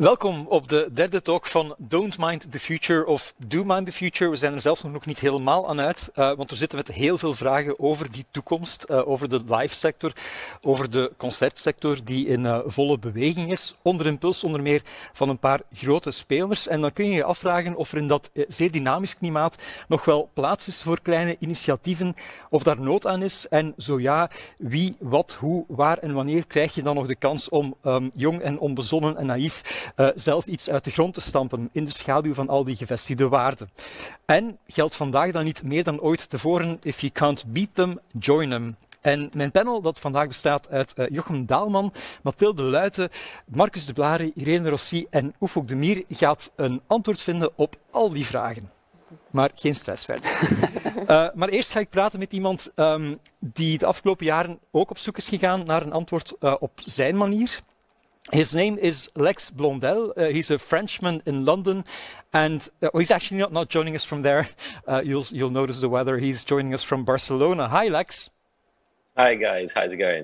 Welkom op de derde talk van Don't Mind the Future of Do Mind the Future. We zijn er zelfs nog niet helemaal aan uit, want we zitten met heel veel vragen over die toekomst, over de live sector, over de concertsector die in volle beweging is, onder impuls onder meer van een paar grote spelers. En dan kun je je afvragen of er in dat zeer dynamisch klimaat nog wel plaats is voor kleine initiatieven, of daar nood aan is. En zo ja, wie, wat, hoe, waar en wanneer krijg je dan nog de kans om jong en onbezonnen en naïef zelf iets uit de grond te stampen in de schaduw van al die gevestigde waarden. En geldt vandaag dan niet meer dan ooit tevoren: if you can't beat them, join them. En mijn panel dat vandaag bestaat uit Jochem Daalman, Mathilde Luijten, Marcus de Blare, Irene Rossi en Oefouk de Mier gaat een antwoord vinden op al die vragen. Maar geen stress verder. Maar eerst ga ik praten met iemand die de afgelopen jaren ook op zoek is gegaan naar een antwoord op zijn manier. His name is Lex Blondel. He's a Frenchman in London, and he's actually not joining us from there. You'll notice the weather. He's joining us from Barcelona. Hi, Lex. Hi, guys. How's it going?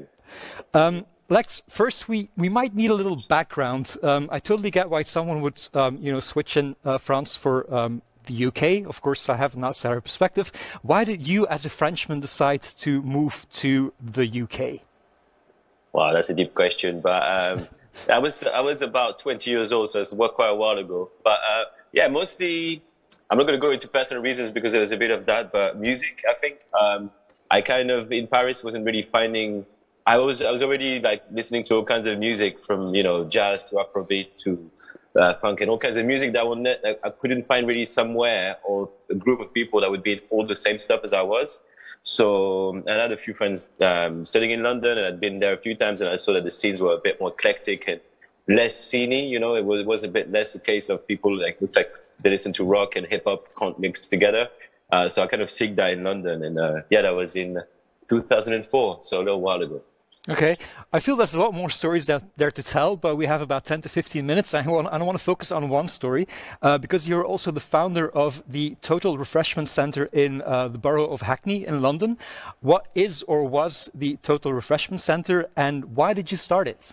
Lex, first we might need a little background. I totally get why someone would switch in France for the UK. Of course, I have an outsider perspective. Why did you, as a Frenchman, decide to move to the UK? Wow, that's a deep question, but I was about 20 years old, so it's quite a while ago. But yeah, mostly, I'm not going to go into personal reasons because there was a bit of that, but music, I think. I kind of, in Paris, wasn't really finding, I was already like listening to all kinds of music from, jazz to Afrobeat to funk and all kinds of music that I couldn't find really somewhere or a group of people that would be all the same stuff as I was. So I had a few friends studying in London, and I'd been there a few times, and I saw that the scenes were a bit more eclectic and less sceney. It was a bit less a case of people looked like they listen to rock and hip hop can't mix together. So I kind of seeked that in London, and that was in 2004, so a little while ago. Okay, I feel there's a lot more stories there to tell, but we have about 10 to 15 minutes. I want to focus on one story because you're also the founder of the Total Refreshment Centre in the borough of Hackney in London. What is or was the Total Refreshment Centre, and why did you start it?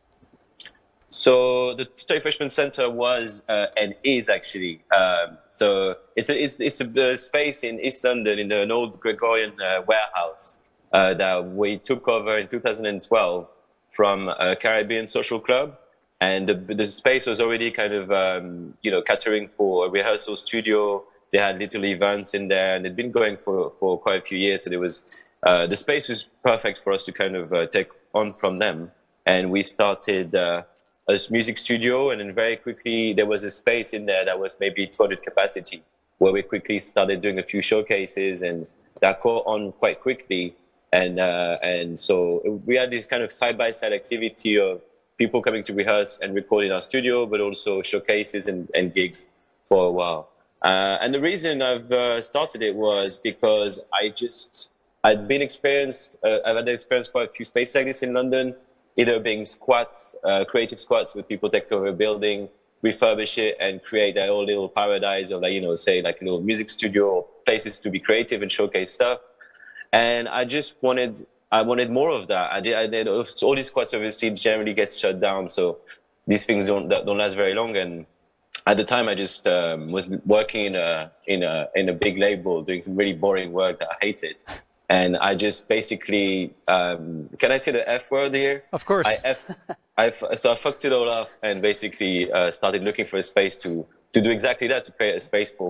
So the Total Refreshment Centre was and is actually so it's a space in East London in an old Gregorian warehouse that we took over in 2012 from a Caribbean social club, and the space was already kind of catering for a rehearsal studio. They had little events in there, and it'd been going for quite a few years. So there was the space was perfect for us to kind of take on from them, and we started a music studio, and then very quickly there was a space in there that was maybe 200 capacity, where we quickly started doing a few showcases, and that caught on quite quickly. And so we had this kind of side-by-side activity of people coming to rehearse and record in our studio, but also showcases and gigs for a while. And the reason I've started it was because I've had experienced quite a few spaces like this in London, either being squats, creative squats with people take over a building, refurbish it, and create their own little paradise of say like a little music studio or places to be creative and showcase stuff. And I wanted more of that. I did all these squats obviously generally get shut down, so these things don't last very long. And at the time, I just was working in a big label, doing some really boring work that I hated. And I just basically, can I say the F word here? Of course. So I fucked it all up and basically started looking for a space to do exactly that, to create a space for,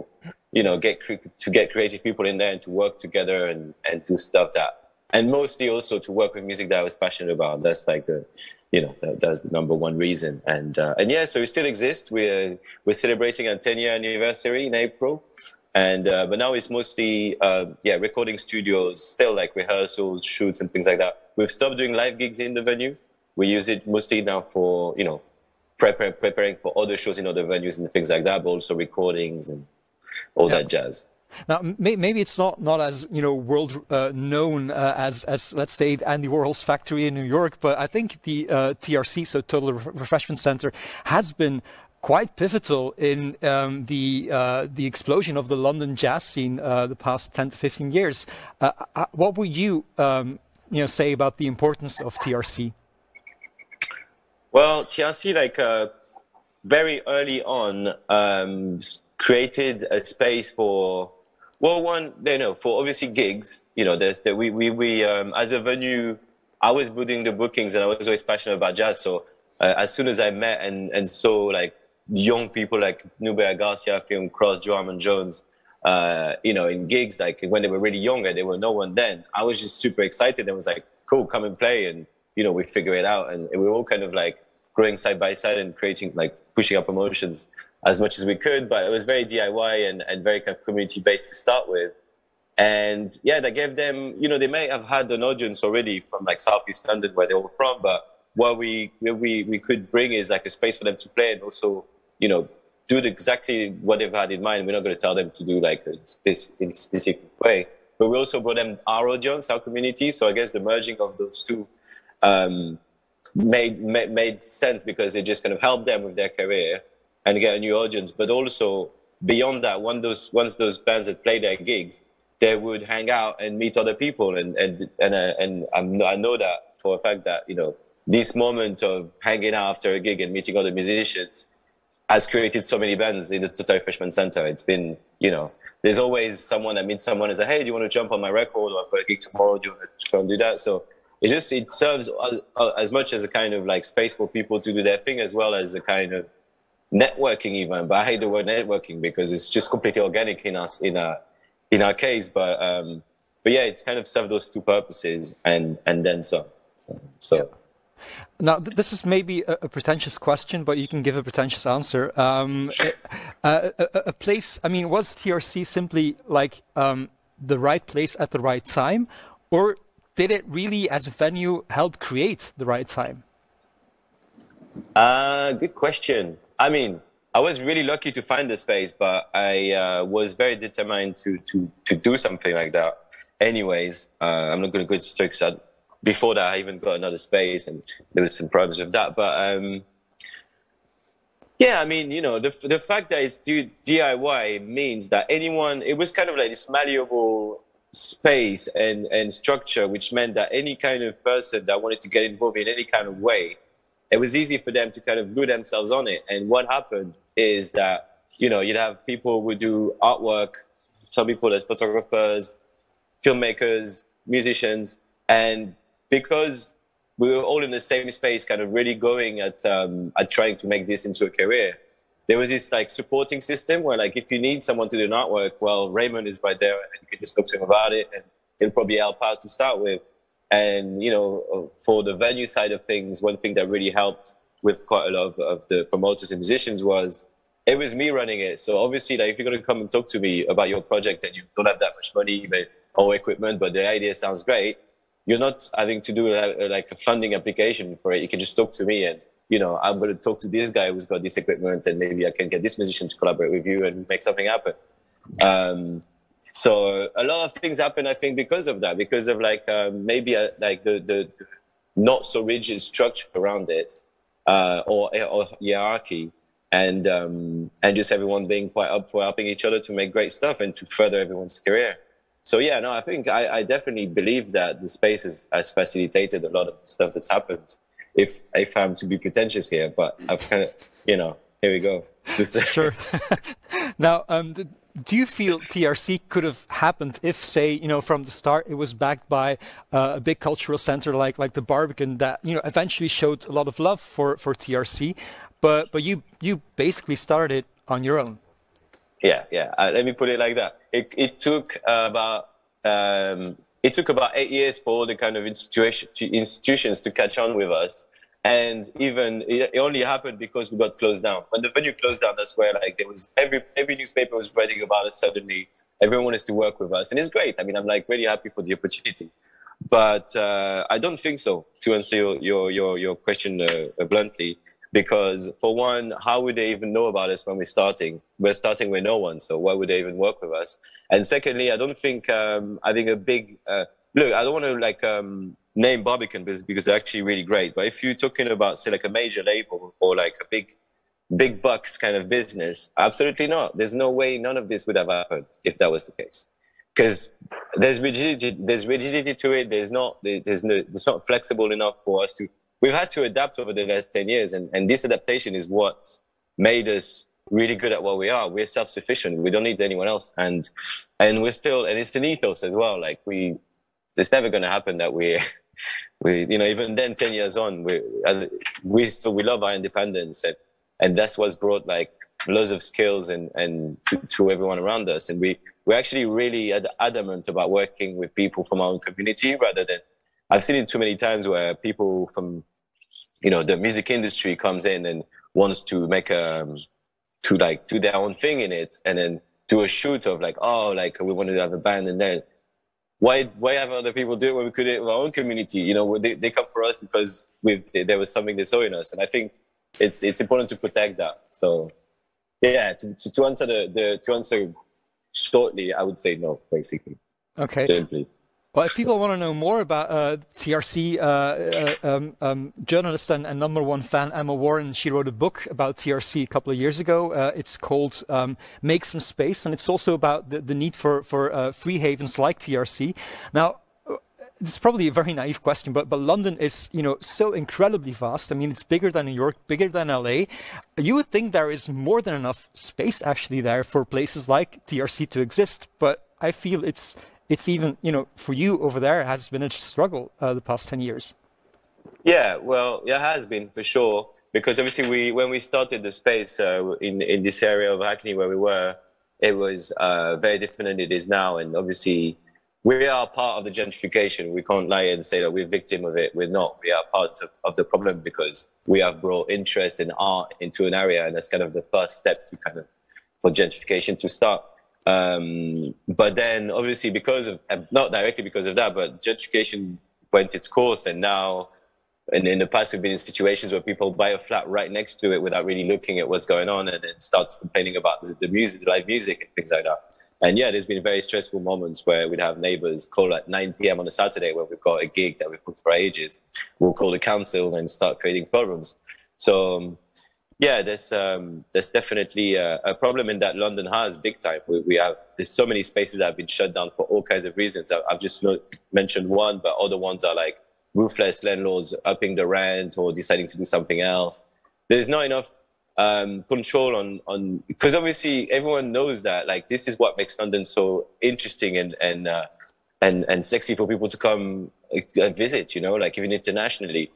get creative people in there and to work together and do stuff and mostly also to work with music that I was passionate about. That's like that's the number one reason. And yeah, so we still exist. We're celebrating our 10-year anniversary in April. And but now it's mostly recording studios, still like rehearsals, shoots and things like that. We've stopped doing live gigs in the venue. We use it mostly now for preparing for other shows in other venues and things like that, but also recordings and all that jazz. Now, maybe it's not as world known as let's say Andy Warhol's factory in New York, but I think the TRC, so Total Refreshment Centre, has been quite pivotal in the explosion of the London jazz scene the past 10 to 15 years. What would you say about the importance of TRC? Well, TRC, very early on created a space for, well, one, you know, for obviously gigs. You know, there's the, we as a venue, I was doing the bookings and I was always passionate about jazz. So as soon as I met and saw like young people like Nubia Garcia, Film Cross, Joe Armand Jones, you know, in gigs, like when they were really younger, they were no one then. I was just super excited and was like, cool, come and play. And, you know, we figure it out. And we were all kind of like growing side by side and creating, like pushing up promotions as much as we could. But it was very DIY and very kind of community based to start with. And yeah, that gave them, you know, they may have had an audience already from like Southeast London where they were from, but what we could bring is like a space for them to play and also, you know, do exactly what they've had in mind. We're not going to tell them to do like in a specific way, but we also brought them our audience, our community. So I guess the merging of those two made sense because it just kind of helped them with their career and get a new audience. But also beyond that, once those bands had played their gigs, they would hang out and meet other people. And I know that for a fact that, you know, this moment of hanging out after a gig and meeting other musicians has created so many bands in the Total Freshman Center. It's been, you know, there's always someone that meets someone and says, hey, do you want to jump on my record? Or I've got a gig tomorrow. Do you want to go and do that? So it serves as much as a kind of like space for people to do their thing, as well as a kind of networking even. But I hate the word networking because it's just completely organic in our case. But yeah, it's kind of served those two purposes and then some. So. Yeah. Now, this is maybe a pretentious question, but you can give a pretentious answer. A place, I mean, was TRC simply like the right place at the right time, or did it really, as a venue, help create the right time? Good question. I mean, I was really lucky to find the space, but I was very determined to do something like that. Anyways, I'm not going to go into because before that, I even got another space, and there was some problems with that. But yeah, I mean, you know, the fact that it's DIY means that anyone, it was kind of like this malleable space and structure, which meant that any kind of person that wanted to get involved in any kind of way, it was easy for them to kind of glue themselves on it. And what happened is that, you know, you'd have people who do artwork, some people as photographers, filmmakers, musicians, and because we were all in the same space, kind of really going at trying to make this into a career, there was this like supporting system where like if you need someone to do an artwork, well, Raymond is right there and you can just talk to him about it and he'll probably help out to start with. And, you know, for the venue side of things, one thing that really helped with quite a lot of the promoters and musicians was it was me running it. So obviously, like, if you're going to come and talk to me about your project and you don't have that much money or equipment, but the idea sounds great, you're not having to do like a funding application for it. You can just talk to me and, you know, I'm going to talk to this guy who's got this equipment and maybe I can get this musician to collaborate with you and make something happen. So a lot of things happen, I think, because of that, because of like maybe like the not so rigid structure around it or hierarchy and just everyone being quite up for helping each other to make great stuff and to further everyone's career. So yeah, no, I think I definitely believe that the space has facilitated a lot of the stuff that's happened. If I'm to be pretentious here, but I've kind of, you know, here we go. Sure. Now, do you feel TRC could have happened if, say, you know, from the start it was backed by a big cultural center like the Barbican that, you know, eventually showed a lot of love for TRC, but you basically started on your own? Yeah. Let me put it like that. It took about 8 years for all the kind of institutions to catch on with us. And even it only happened because we got closed down. When the venue closed down, that's where like there was every newspaper was writing about us suddenly. Everyone wanted to work with us. And it's great. I mean, I'm like really happy for the opportunity. But I don't think so, to answer your question bluntly. Because for one, how would they even know about us when we're starting? We're starting with no one, so why would they even work with us? And secondly, I don't think I think a big look. I don't want to like name Barbican because they're actually really great. But if you're talking about say like a major label or like a big bucks kind of business, absolutely not. There's no way none of this would have happened if that was the case. Because there's rigidity to it. It's not flexible enough for us to. We've had to adapt over the last 10 years, and this adaptation is what made us really good at what we are. We're self-sufficient. We don't need anyone else. And we're still, and it's an ethos as well. Like it's never going to happen that even then 10 years on, we love our independence, and that's what's brought like loads of skills and to everyone around us. And we're actually really adamant about working with people from our own community rather than, I've seen it too many times where people from, the music industry comes in and wants to make to like do their own thing in it, and then do a shoot of like, we wanted to have a band, and then why have other people do it when we could do it with our own community? They come for us because there was something they saw in us, and I think it's important to protect that. So yeah, to answer to answer shortly, I would say no, basically. Okay. Simply. Well, if people want to know more about TRC, journalist and number one fan Emma Warren, she wrote a book about TRC a couple of years ago. It's called Make Some Space, and it's also about the need for free havens like TRC. Now, this is probably a very naive question, but London is, so incredibly vast. I mean, it's bigger than New York, bigger than LA. You would think there is more than enough space actually there for places like TRC to exist, but I feel it's even, for you over there, it has been a struggle the past 10 years. Yeah, well, it has been for sure. Because obviously when we started the space in this area of Hackney where we were, it was very different than it is now. And obviously we are part of the gentrification. We can't lie and say that we're victim of it. We're not. We are part of the problem because we have brought interest in art into an area. And that's kind of the first step for gentrification to start. But then obviously because of, not directly because of that, but gentrification went its course, and now, and in the past we've been in situations where people buy a flat right next to it without really looking at what's going on, and then start complaining about the music, the live music and things like that. And yeah, there's been very stressful moments where we'd have neighbors call at 9 p.m. on a Saturday when we've got a gig that we've booked for ages. We'll call the council and start creating problems. So yeah, there's definitely a problem in that London has big time. There's so many spaces that have been shut down for all kinds of reasons. I've just mentioned one, but other ones are like ruthless landlords upping the rent or deciding to do something else. There's not enough control on because obviously everyone knows that like this is what makes London so interesting and sexy for people to come visit. Like even internationally.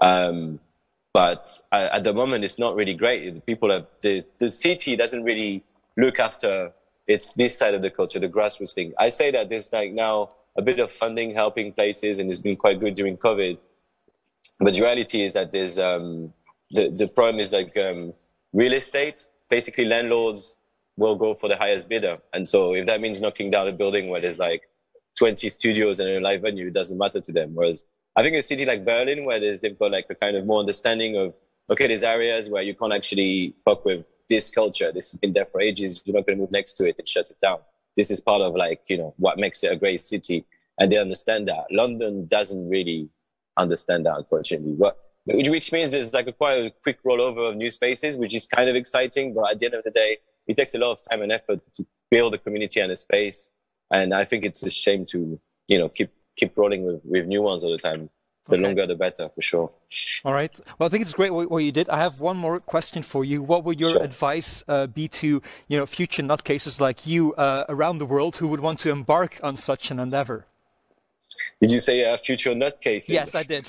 But at the moment, it's not really great. The city doesn't really look after this side of the culture, the grassroots thing. I say that there's like now a bit of funding helping places, and it's been quite good during COVID. But the reality is that there's the problem is like real estate. Basically, landlords will go for the highest bidder, and so if that means knocking down a building where there's like 20 studios and a live venue, it doesn't matter to them. Whereas I think a city like Berlin, where they've got like a kind of more understanding of, okay, there's areas where you can't actually fuck with this culture. This has been there for ages. You're not going to move next to it and shut it down. This is part of like, what makes it a great city. And they understand that. London doesn't really understand that, unfortunately. Which means there's like quite a quick rollover of new spaces, which is kind of exciting. But at the end of the day, it takes a lot of time and effort to build a community and a space. And I think it's a shame to, keep rolling with new ones all the time. The longer, the better, for sure. All right. Well, I think it's great what you did. I have one more question for you. What would your advice be to, future nutcases like you around the world who would want to embark on such an endeavor? Did you say future nutcases? Yes, I did.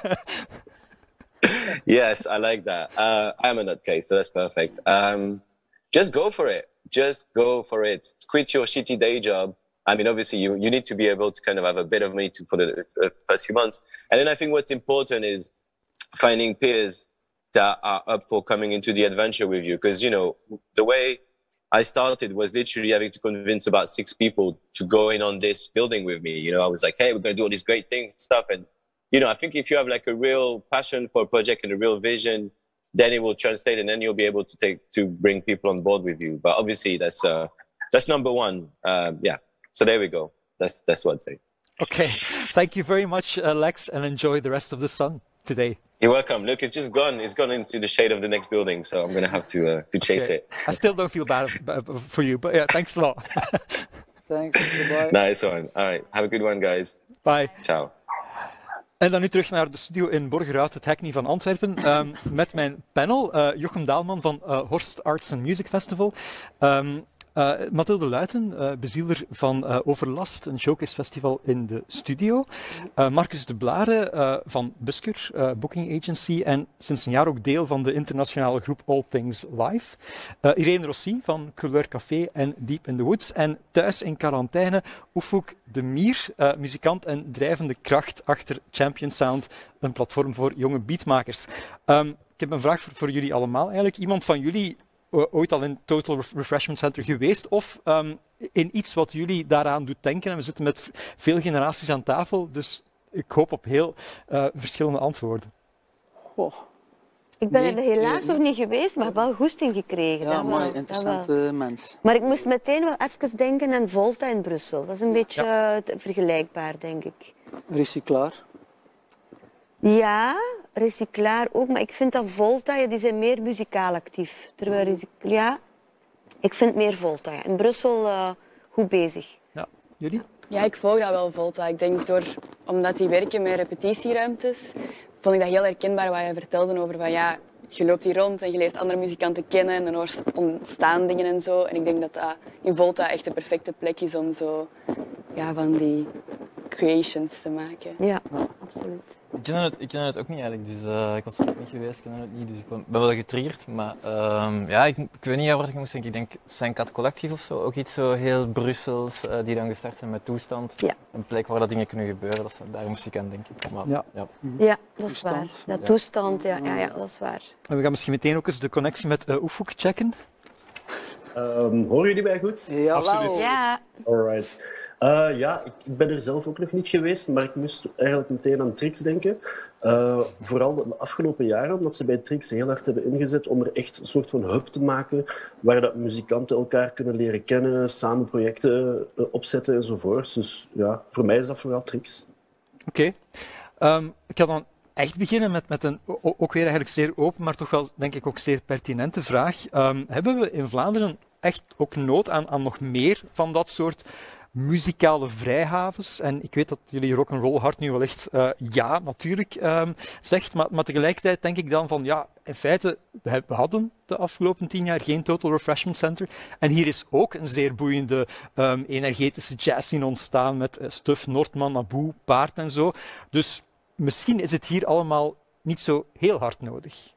Yes, I like that. I'm a nutcase, so that's perfect. Just go for it. Just go for it. Quit your shitty day job. I mean, obviously, you need to be able to kind of have a bit of money for the first few months. And then I think what's important is finding peers that are up for coming into the adventure with you. Because, the way I started was literally having to convince about 6 people to go in on this building with me. I was like, hey, we're going to do all these great things and stuff. And, I think if you have like a real passion for a project and a real vision, then it will translate, and then you'll be able to bring people on board with you. But obviously, that's number one. Yeah. So there we go. That's what I'd say. Okay. Thank you very much, Lex, and enjoy the rest of the sun today. You're welcome. Look, it's just gone. It's gone into the shade of the next building, so I'm going to have to chase it. I still don't feel bad for you, but yeah, thanks a lot. Thanks. Goodbye. Nice one. All right. Have a good one, guys. Bye. Ciao. En dan nu terug naar de studio in Borgerhout, het Hackney van Antwerpen, met mijn panel, Jochem Daalman van Horst Arts and Music Festival. Mathilde Luiten, bezieler van Overlast, een showcase festival in de studio. Marcus de Blare van Busker, Booking Agency en sinds een jaar ook deel van de internationale groep All Things Live. Irene Rossi van Couleur Café en Deep in the Woods. En thuis in quarantaine Oefoek de Mier, muzikant en drijvende kracht achter Champion Sound, een platform voor jonge beatmakers. Ik heb een vraag voor jullie allemaal eigenlijk. Iemand van jullie ooit al in Total Refreshment Center geweest of in iets wat jullie daaraan doet denken? En we zitten met veel generaties aan tafel, dus ik hoop op heel verschillende antwoorden. Goh. Ik ben er helaas nog niet geweest, maar wel goesting gekregen. Ja, maar interessante mens. Maar ik moest meteen wel even denken aan Volta in Brussel. Dat is een beetje vergelijkbaar, denk ik. Recyclaar. Ja, Recyclaar ook, maar ik vind dat Volta, die zijn meer muzikaal actief. Terwijl ik vind meer Volta. Ja. In Brussel goed bezig. Ja, jullie? Ja, ik volg dat wel, Volta. Ik denk omdat die werken met repetitieruimtes, vond ik dat heel herkenbaar wat je vertelde over van ja, je loopt hier rond en je leert andere muzikanten kennen en dan ontstaan dingen en zo. En ik denk dat dat in Volta echt de perfecte plek is om zo van die creations te maken. Ja, absoluut. Ik ken het ook niet eigenlijk, dus ik was er ook niet geweest, ik ken het niet, dus ik ben wel getriggerd. Maar ik weet niet waar ik moest denken. Ik denk Saint-Cat Collectief of zo, ook iets zo heel Brussels, die dan gestart zijn met Toestand. Ja. Een plek waar dat dingen kunnen gebeuren, daar moest ik aan denken. Maar, ja, dat is waar. Dat toestand, ja, dat is waar. En we gaan misschien meteen ook eens de connectie met Oefoek checken. Horen jullie mij goed? Ja, absoluut. Ja. Alright. Ik ben er zelf ook nog niet geweest, maar ik moest eigenlijk meteen aan Trix denken. Vooral de afgelopen jaren, omdat ze bij Trix heel hard hebben ingezet om er echt een soort van hub te maken, waar dat muzikanten elkaar kunnen leren kennen, samen projecten opzetten enzovoort. Dus ja, voor mij is dat vooral Trix. Oké. Ik ga dan echt beginnen met een ook weer eigenlijk zeer open, maar toch wel denk ik ook zeer pertinente vraag. Hebben we in Vlaanderen echt ook nood aan nog meer van dat soort muzikale vrijhavens? En ik weet dat jullie rock'n'roll hart nu wel echt ja, natuurlijk zegt, maar tegelijkertijd denk ik dan van ja, in feite, we hadden de afgelopen 10 jaar geen Total Refreshment Center. En hier is ook een zeer boeiende energetische jazzscene ontstaan met Stuf, Noordman, Abu, Paard en zo. Dus misschien is het hier allemaal niet zo heel hard nodig.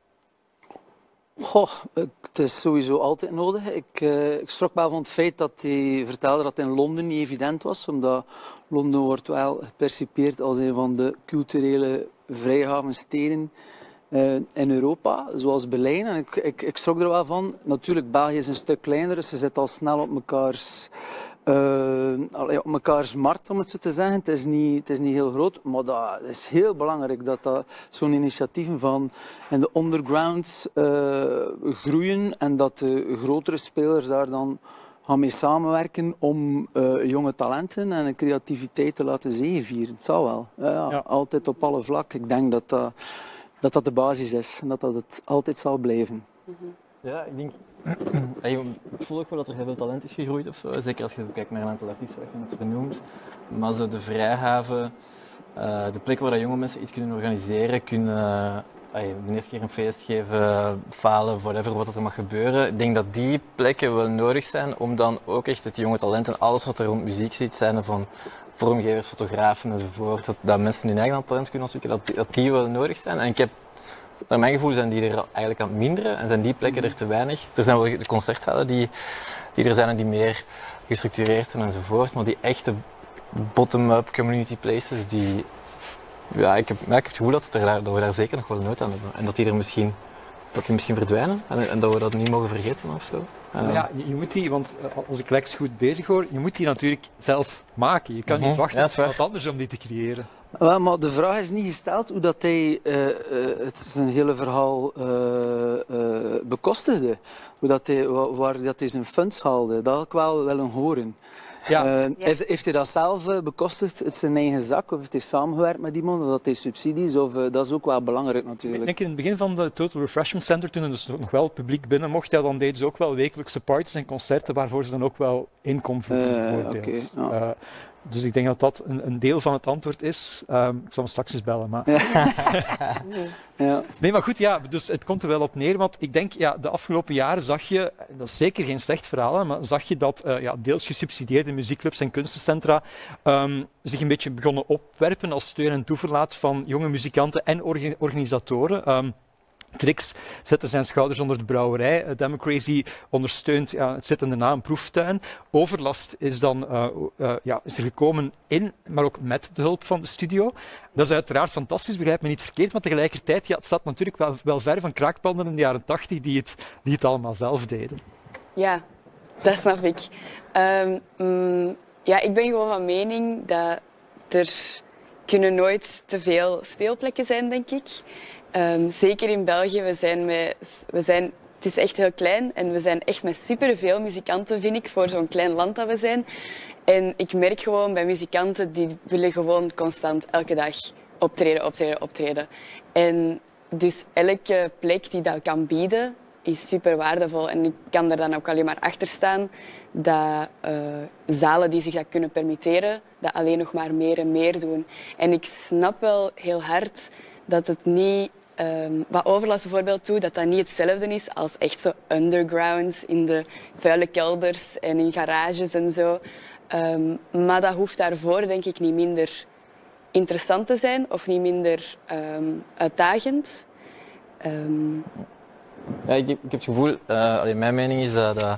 Goh, het is sowieso altijd nodig. Ik schrok wel van het feit dat hij vertelde dat het in Londen niet evident was, omdat Londen wordt wel gepercipieerd als een van de culturele vrijhavensteden in Europa, zoals Berlijn. En ik schrok er wel van. Natuurlijk, België is een stuk kleiner, dus ze zitten al snel op mekaars markt, om het zo te zeggen. Het is niet heel groot, maar dat is heel belangrijk dat zo'n initiatieven van in de underground groeien en dat de grotere spelers daar dan gaan mee samenwerken om jonge talenten en creativiteit te laten zegevieren. Het zal wel. Ja. Altijd op alle vlakken. Ik denk dat de basis is en dat het altijd zal blijven. Ja, ik denk... Ik voel ook wel dat er heel veel talent is gegroeid of zo. Zeker als je kijkt naar een aantal artiesten dat je net benoemt. Maar zo de vrijhaven, de plek waar dat jonge mensen iets kunnen organiseren, kunnen de eerste keer een feest geven, falen, whatever, wat er mag gebeuren. Ik denk dat die plekken wel nodig zijn om dan ook echt het jonge talent en alles wat er rond muziek zit, zijn van vormgevers, fotografen enzovoort, dat mensen hun eigen talent kunnen ontwikkelen, dat die wel nodig zijn. En ik heb naar mijn gevoel zijn die er eigenlijk aan het minderen en zijn die plekken er te weinig. Er zijn wel de concertzalen die er zijn en die meer gestructureerd zijn enzovoort, maar die echte bottom-up community places, ik heb het gevoel dat we daar zeker nog wel nood aan hebben. En dat die misschien verdwijnen en dat we dat niet mogen vergeten of zo. Ja, je moet die, want als ik Lex goed bezig hoor, je moet die natuurlijk zelf maken. Je kan niet wachten op wat anders om die te creëren. Wel, maar de vraag is niet gesteld hoe dat hij het zijn hele verhaal bekostigde. Waar dat hij zijn funds haalde. Dat had ik wel willen horen. Ja. Heeft hij dat zelf bekostigd uit zijn eigen zak? Of heeft hij samengewerkt met iemand? Of dat hij subsidies? Dat is ook wel belangrijk natuurlijk. Ik denk in het begin van de Total Refreshment Center, toen er dus nog wel het publiek binnen mocht, dan deden ze ook wel wekelijkse parties en concerten waarvoor ze dan ook wel inkomen verdienen, bijvoorbeeld. Dus ik denk dat dat een deel van het antwoord is. Ik zal hem straks eens bellen. Maar... Ja. Nee, maar goed, ja, dus het komt er wel op neer. Want ik denk, ja, de afgelopen jaren zag je, dat is zeker geen slecht verhaal, hè, maar zag je dat deels gesubsidieerde muziekclubs en kunstencentra zich een beetje begonnen opwerpen als steun en toeverlaat van jonge muzikanten en organisatoren. Trix zette zijn schouders onder de brouwerij. Democracy ondersteunt het zittende na een proeftuin. Overlast is dan is er gekomen maar ook met de hulp van de studio. Dat is uiteraard fantastisch, begrijp me niet verkeerd, maar tegelijkertijd het staat natuurlijk wel ver van kraakpanden in de jaren 80 die het allemaal zelf deden. Ja, dat snap ik. Ik ben gewoon van mening dat er kunnen nooit te veel speelplekken zijn, denk ik. Zeker in België, het is echt heel klein en we zijn echt met superveel muzikanten, vind ik, voor zo'n klein land dat we zijn. En ik merk gewoon bij muzikanten, die willen gewoon constant elke dag optreden. En dus elke plek die dat kan bieden, is super waardevol. En ik kan er dan ook alleen maar achter staan dat zalen die zich dat kunnen permitteren, dat alleen nog maar meer en meer doen. En ik snap wel heel hard dat het niet, wat Overlast bijvoorbeeld doet, dat niet hetzelfde is als echt zo underground in de vuile kelders en in garages en zo. Maar dat hoeft daarvoor denk ik niet minder interessant te zijn of niet minder uitdagend. Ja, ik heb het gevoel, mijn mening is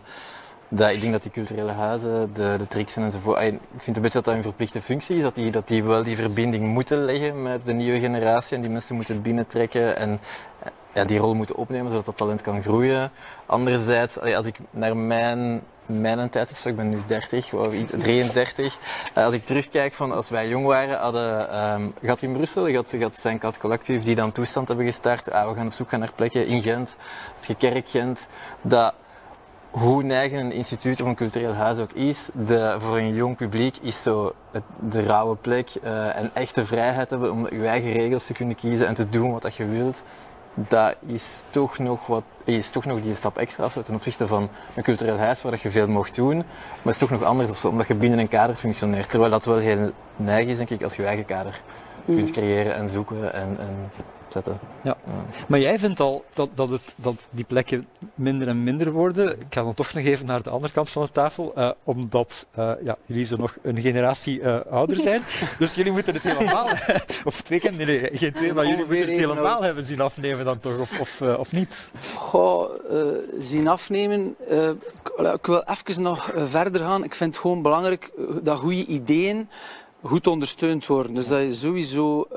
dat ik denk dat die culturele huizen, de Trixen enzovoort, ik vind een beetje dat een verplichte functie is, dat die wel die verbinding moeten leggen met de nieuwe generatie en die mensen moeten binnentrekken en die rol moeten opnemen zodat dat talent kan groeien. Anderzijds, als ik naar mijn tijd of zo, ik ben nu 30 of 33, als ik terugkijk van als wij jong waren, gaat in Brussel, gaat Saint-Cat Collectief die dan toestand hebben gestart, we gaan op zoek gaan naar plekken in Gent, het Gekerk Gent, dat hoe neigend een instituut of een cultureel huis ook is, voor een jong publiek is zo de rauwe plek en echte vrijheid hebben om je eigen regels te kunnen kiezen en te doen wat je wilt. Dat is toch nog die stap extra zo, ten opzichte van een cultureel huis waar je veel mocht doen, maar het is toch nog anders of zo, omdat je binnen een kader functioneert. Terwijl dat wel heel neig is, denk ik, als je eigen kader kunt creëren en zoeken en zetten. Ja. Maar jij vindt al dat die plekken minder en minder worden. Ik ga dan toch nog even naar de andere kant van de tafel, omdat jullie zo nog een generatie ouder zijn. Dus jullie moeten het helemaal, of geen twee, maar jullie moeten het helemaal hebben zien afnemen dan toch, of niet? Goh, zien afnemen. Ik wil even nog verder gaan. Ik vind het gewoon belangrijk dat goede ideeën goed ondersteund worden. Dus dat je sowieso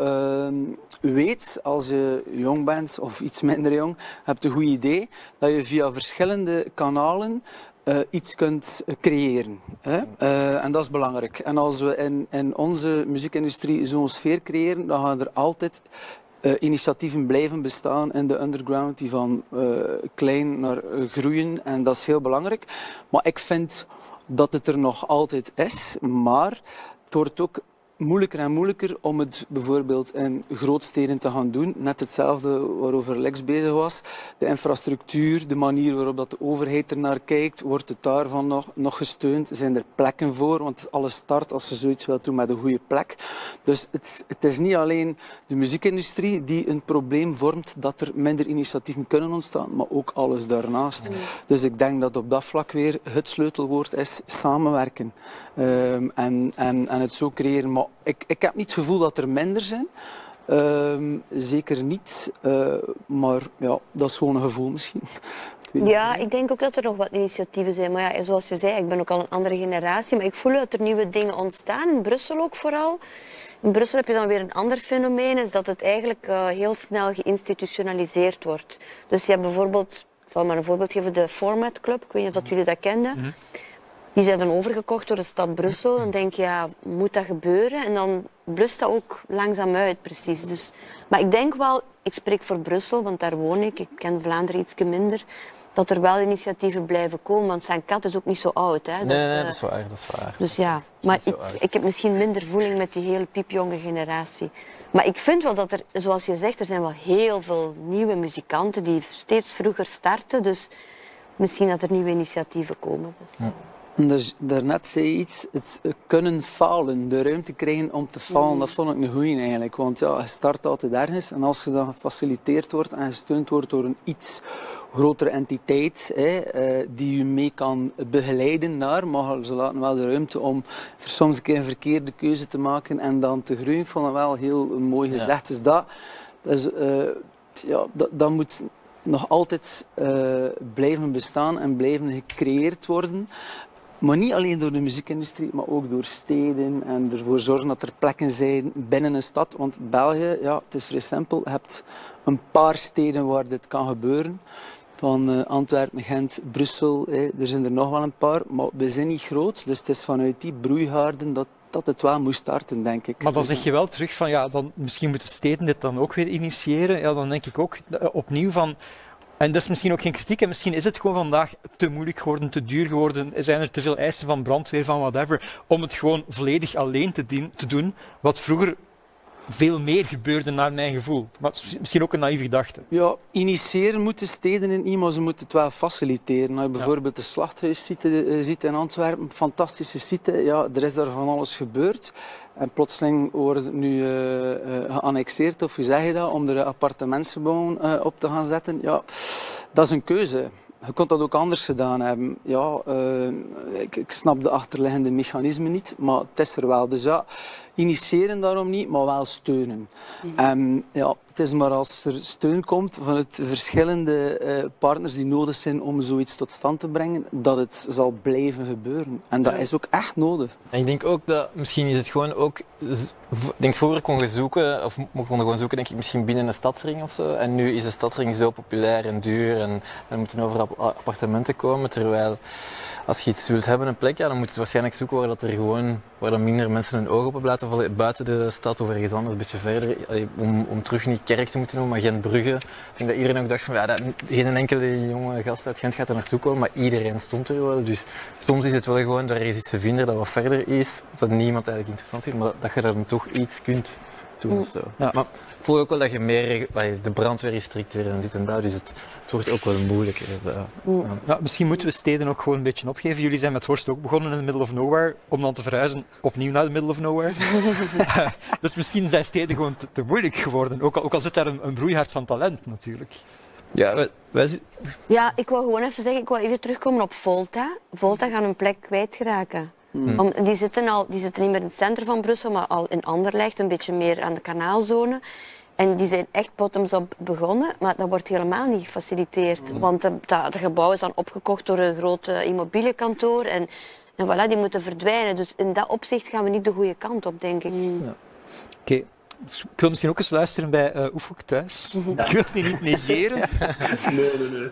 weet, als je jong bent of iets minder jong, hebt een goed idee, dat je via verschillende kanalen iets kunt creëren. Hè? En dat is belangrijk. En als we in onze muziekindustrie zo'n sfeer creëren, dan gaan er altijd initiatieven blijven bestaan in de underground die van klein naar groeien. En dat is heel belangrijk. Maar ik vind dat het er nog altijd is, maar het wordt ook moeilijker en moeilijker om het bijvoorbeeld in grootsteden te gaan doen. Net hetzelfde waarover Lex bezig was. De infrastructuur, de manier waarop dat de overheid ernaar kijkt, wordt het daarvan nog gesteund? Zijn er plekken voor? Want alles start als je zoiets wilt doen met een goede plek. Dus het is niet alleen de muziekindustrie die een probleem vormt dat er minder initiatieven kunnen ontstaan, maar ook alles daarnaast. Dus ik denk dat op dat vlak weer het sleutelwoord is samenwerken. En het zo creëren. Maar ik heb niet het gevoel dat er minder zijn. Zeker niet. Maar ja, dat is gewoon een gevoel misschien. Ja, ik denk ook dat er nog wat initiatieven zijn. Maar ja, zoals je zei, ik ben ook al een andere generatie. Maar ik voel dat er nieuwe dingen ontstaan. In Brussel ook vooral. In Brussel heb je dan weer een ander fenomeen. Is dat het eigenlijk heel snel geïnstitutionaliseerd wordt. Dus je hebt bijvoorbeeld, ik zal maar een voorbeeld geven, de Format Club. Ik weet niet of jullie dat kenden. Mm-hmm. Die zijn dan overgekocht door de stad Brussel. Dan denk je, ja, moet dat gebeuren? En dan blust dat ook langzaam uit, precies. Dus, maar ik denk wel, ik spreek voor Brussel, want daar woon ik. Ik ken Vlaanderen iets minder. Dat er wel initiatieven blijven komen. Want Saint-Cat is ook niet zo oud. Hè? Nee, dat is waar. Dus ja, maar ik heb misschien minder voeling met die hele piepjonge generatie. Maar ik vind wel dat er, zoals je zegt, er zijn wel heel veel nieuwe muzikanten die steeds vroeger starten. Dus misschien dat er nieuwe initiatieven komen. Dus. Ja. Dus daarnet zei je iets, het kunnen falen, de ruimte krijgen om te falen, dat vond ik een goeie eigenlijk. Want ja, je start altijd ergens en als je dan gefaciliteerd wordt en gesteund wordt door een iets grotere entiteit die je mee kan begeleiden naar, maar ze laten wel de ruimte om soms een keer een verkeerde keuze te maken en dan te groeien. Ik vond dat wel heel mooi gezegd. Ja. Dus dat moet nog altijd blijven bestaan en blijven gecreëerd worden. Maar niet alleen door de muziekindustrie, maar ook door steden en ervoor zorgen dat er plekken zijn binnen een stad. Want België, ja, het is vrij simpel. Je hebt een paar steden waar dit kan gebeuren. Van Antwerpen, Gent, Brussel, er zijn er nog wel een paar. Maar we zijn niet groot, dus het is vanuit die broeigaarden dat het wel moest starten, denk ik. Maar dan zeg je wel terug van, ja, dan, misschien moeten steden dit dan ook weer initiëren. Ja, dan denk ik ook opnieuw van... En dat is misschien ook geen kritiek, en misschien is het gewoon vandaag te moeilijk geworden, te duur geworden, zijn er te veel eisen van brandweer, van whatever, om het gewoon volledig alleen te doen, wat vroeger veel meer gebeurde naar mijn gevoel. Maar misschien ook een naïeve gedachte. Ja, initiëren moeten steden in maar ze moeten het wel faciliteren. Als je bijvoorbeeld de Slachthuis ziet in Antwerpen, fantastische site, ja, er is daar van alles gebeurd. En plotseling wordt het nu geannexeerd, of hoe zeg je dat, om er appartementsgebouwen op te gaan zetten. Ja, dat is een keuze. Je kon dat ook anders gedaan hebben. Ja, ik snap de achterliggende mechanismen niet, maar het is er wel. Dus ja, initiëren daarom niet, maar wel steunen. Ja, het is maar als er steun komt van het verschillende partners die nodig zijn om zoiets tot stand te brengen, dat het zal blijven gebeuren. En dat is ook echt nodig. En ik denk ook dat misschien is het gewoon ook... Ik denk vroeger kon je zoeken, of we konden gewoon zoeken, denk ik, misschien binnen een stadsring of zo. En nu is de stadsring zo populair en duur en er moeten overal appartementen komen. Terwijl als je iets wilt hebben, een plek, ja, dan moet je waarschijnlijk zoeken waar dan minder mensen hun ogen op laten vallen. Buiten de stad of ergens anders, een beetje verder. Om terug niet Kerk te moeten noemen, maar Gent-Brugge. Ik denk dat iedereen ook dacht van, ja, geen enkele jonge gast uit Gent gaat er naartoe komen, maar iedereen stond er wel. Dus soms is het wel gewoon, daar is iets te vinden dat wat verder is, dat niemand eigenlijk interessant vindt, maar dat je daar dan toch iets kunt doen of zo. Ja. Maar ik voel ook wel dat je meer, de brandweer is strikter en dit en dat, dus het wordt ook wel moeilijker. Ja, misschien moeten we steden ook gewoon een beetje opgeven. Jullie zijn met Horst ook begonnen in the middle of nowhere, om dan te verhuizen opnieuw naar the middle of nowhere. Dus misschien zijn steden gewoon te moeilijk geworden, ook al zit daar een broeihard van talent natuurlijk. Ja, ja, ik wil gewoon even zeggen, ik wil even terugkomen op Volta. Volta gaan hun plek kwijtraken. Die zitten niet meer in het centrum van Brussel, maar al in Anderlecht, een beetje meer aan de kanaalzone. En die zijn echt bottoms-up begonnen, maar dat wordt helemaal niet gefaciliteerd. Want het gebouw is dan opgekocht door een groot immobilienkantoor en voilà, die moeten verdwijnen. Dus in dat opzicht gaan we niet de goede kant op, denk ik. Ja. Oké. Dus ik wil misschien ook eens luisteren bij Oefhoek thuis. Ja. Ik wil die niet negeren. Nee.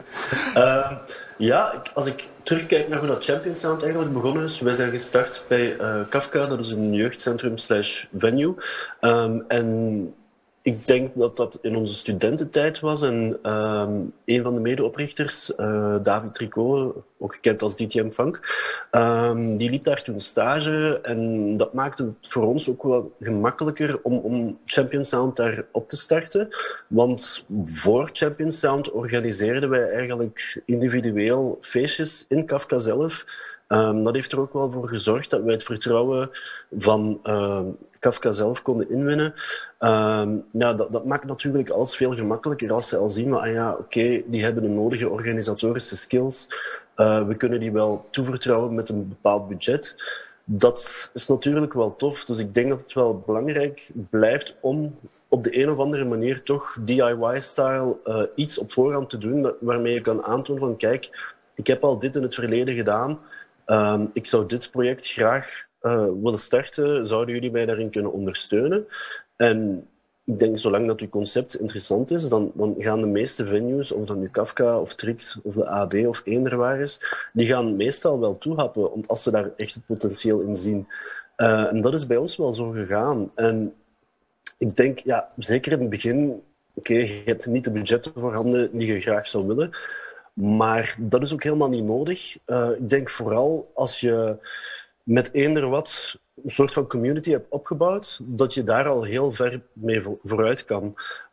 Als ik terugkijk naar hoe dat Champion Sound eigenlijk begonnen is. Wij zijn gestart bij Kafka, dat is een jeugdcentrum/venue. En ik denk dat dat in onze studententijd was. En een van de medeoprichters, David Tricot, ook gekend als DTM Funk, die liep daar toen stage. En dat maakte het voor ons ook wel gemakkelijker om Champion Sound daar op te starten. Want voor Champion Sound organiseerden wij eigenlijk individueel feestjes in Kafka zelf. Dat heeft er ook wel voor gezorgd dat wij het vertrouwen van Kafka zelf konden inwinnen. Dat maakt natuurlijk alles veel gemakkelijker als ze al zien van, die hebben de nodige organisatorische skills. We kunnen die wel toevertrouwen met een bepaald budget. Dat is natuurlijk wel tof. Dus ik denk dat het wel belangrijk blijft om op de een of andere manier toch DIY-style iets op voorhand te doen waarmee je kan aantonen van, kijk, ik heb al dit in het verleden gedaan. Ik zou dit project graag willen starten. Zouden jullie mij daarin kunnen ondersteunen? En ik denk, zolang dat uw concept interessant is, dan gaan de meeste venues, of dat nu Kafka of Trix of de AB of eender waar is, die gaan meestal wel toehappen, als ze daar echt het potentieel in zien. En dat is bij ons wel zo gegaan. En ik denk, zeker in het begin, je hebt niet de budgetten voorhanden die je graag zou willen. Maar dat is ook helemaal niet nodig. Ik denk vooral als je met eender wat soort van community hebt opgebouwd, dat je daar al heel ver mee vooruit kan.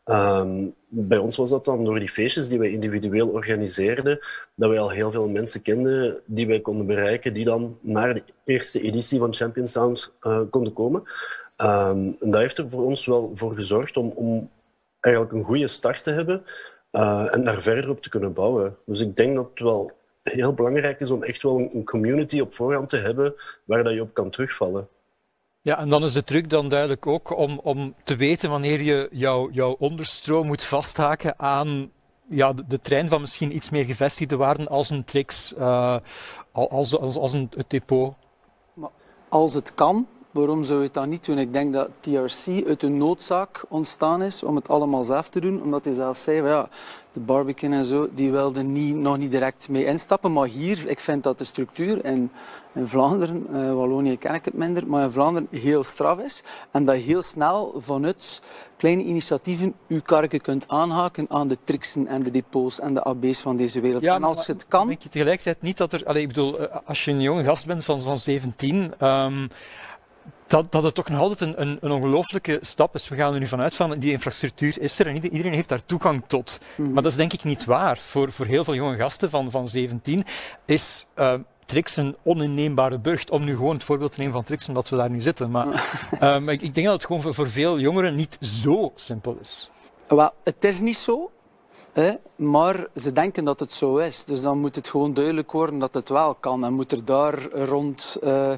Bij ons was dat dan door die feestjes die wij individueel organiseerden, dat wij al heel veel mensen kenden die wij konden bereiken, die dan naar de eerste editie van Champion Sound konden komen. En dat heeft er voor ons wel voor gezorgd om eigenlijk een goede start te hebben en daar verder op te kunnen bouwen. Dus ik denk dat het wel heel belangrijk is om echt wel een community op voorhand te hebben waar dat je op kan terugvallen. Ja, en dan is de truc dan duidelijk ook om te weten wanneer je jouw onderstroom moet vasthaken aan de trein van misschien iets meer gevestigde waarden als een Trix, als het depot. Maar als het kan, waarom zou je het dan niet doen? Ik denk dat TRC uit een noodzaak ontstaan is om het allemaal zelf te doen, omdat hij zelf zei, de Barbican en zo, die wilden nog niet direct mee instappen. Maar hier, ik vind dat de structuur in Vlaanderen, Wallonië ken ik het minder, maar in Vlaanderen heel straf is. En dat je heel snel vanuit kleine initiatieven je karken kunt aanhaken aan de Trixen en de depots en de AB's van deze wereld. Ja, en als je het kan... denk je tegelijkertijd niet dat er... ik bedoel, als je een jonge gast bent van 17... dat het toch nog altijd een ongelooflijke stap is. We gaan er nu vanuit van, die infrastructuur is er en iedereen heeft daar toegang tot. Maar dat is denk ik niet waar. Voor heel veel jonge gasten van 17 is Trix een oninneembare burcht. Om nu gewoon het voorbeeld te nemen van Trix, omdat we daar nu zitten. Maar ik denk dat het gewoon voor veel jongeren niet zo simpel is. Wel, het is niet zo. Maar ze denken dat het zo is. Dus dan moet het gewoon duidelijk worden dat het wel kan. En moet er daar rond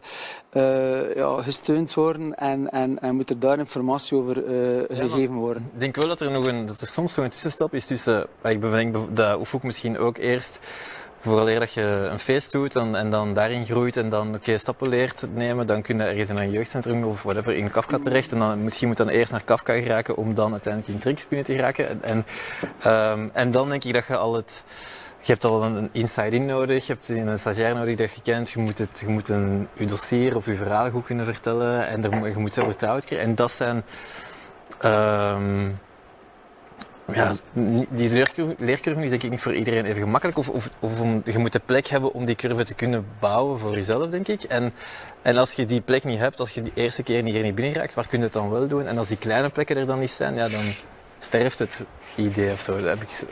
gesteund worden en moet er daar informatie over gegeven worden. Ik denk wel dat er soms nog een tussenstap is tussen... Ik denk dat hoeft ook misschien ook eerst... Vooraleer dat je een feest doet en dan daarin groeit en dan stappen leert nemen, dan kun je ergens in een jeugdcentrum of whatever in Kafka terecht. En dan misschien moet je dan eerst naar Kafka geraken om dan uiteindelijk in Trix binnen te geraken. En dan denk ik dat je je hebt al een inside-in nodig, je hebt een stagiair nodig dat je kent, je moet je dossier of je verhaal goed kunnen vertellen en je moet zo vertrouwd krijgen. En dat zijn... die leercurve is denk ik niet voor iedereen even gemakkelijk. Je moet de plek hebben om die curve te kunnen bouwen voor jezelf, denk ik. En als je die plek niet hebt, als je die eerste keer niet binnen raakt, waar kun je het dan wel doen? En als die kleine plekken er dan niet zijn, dan sterft het idee of zo.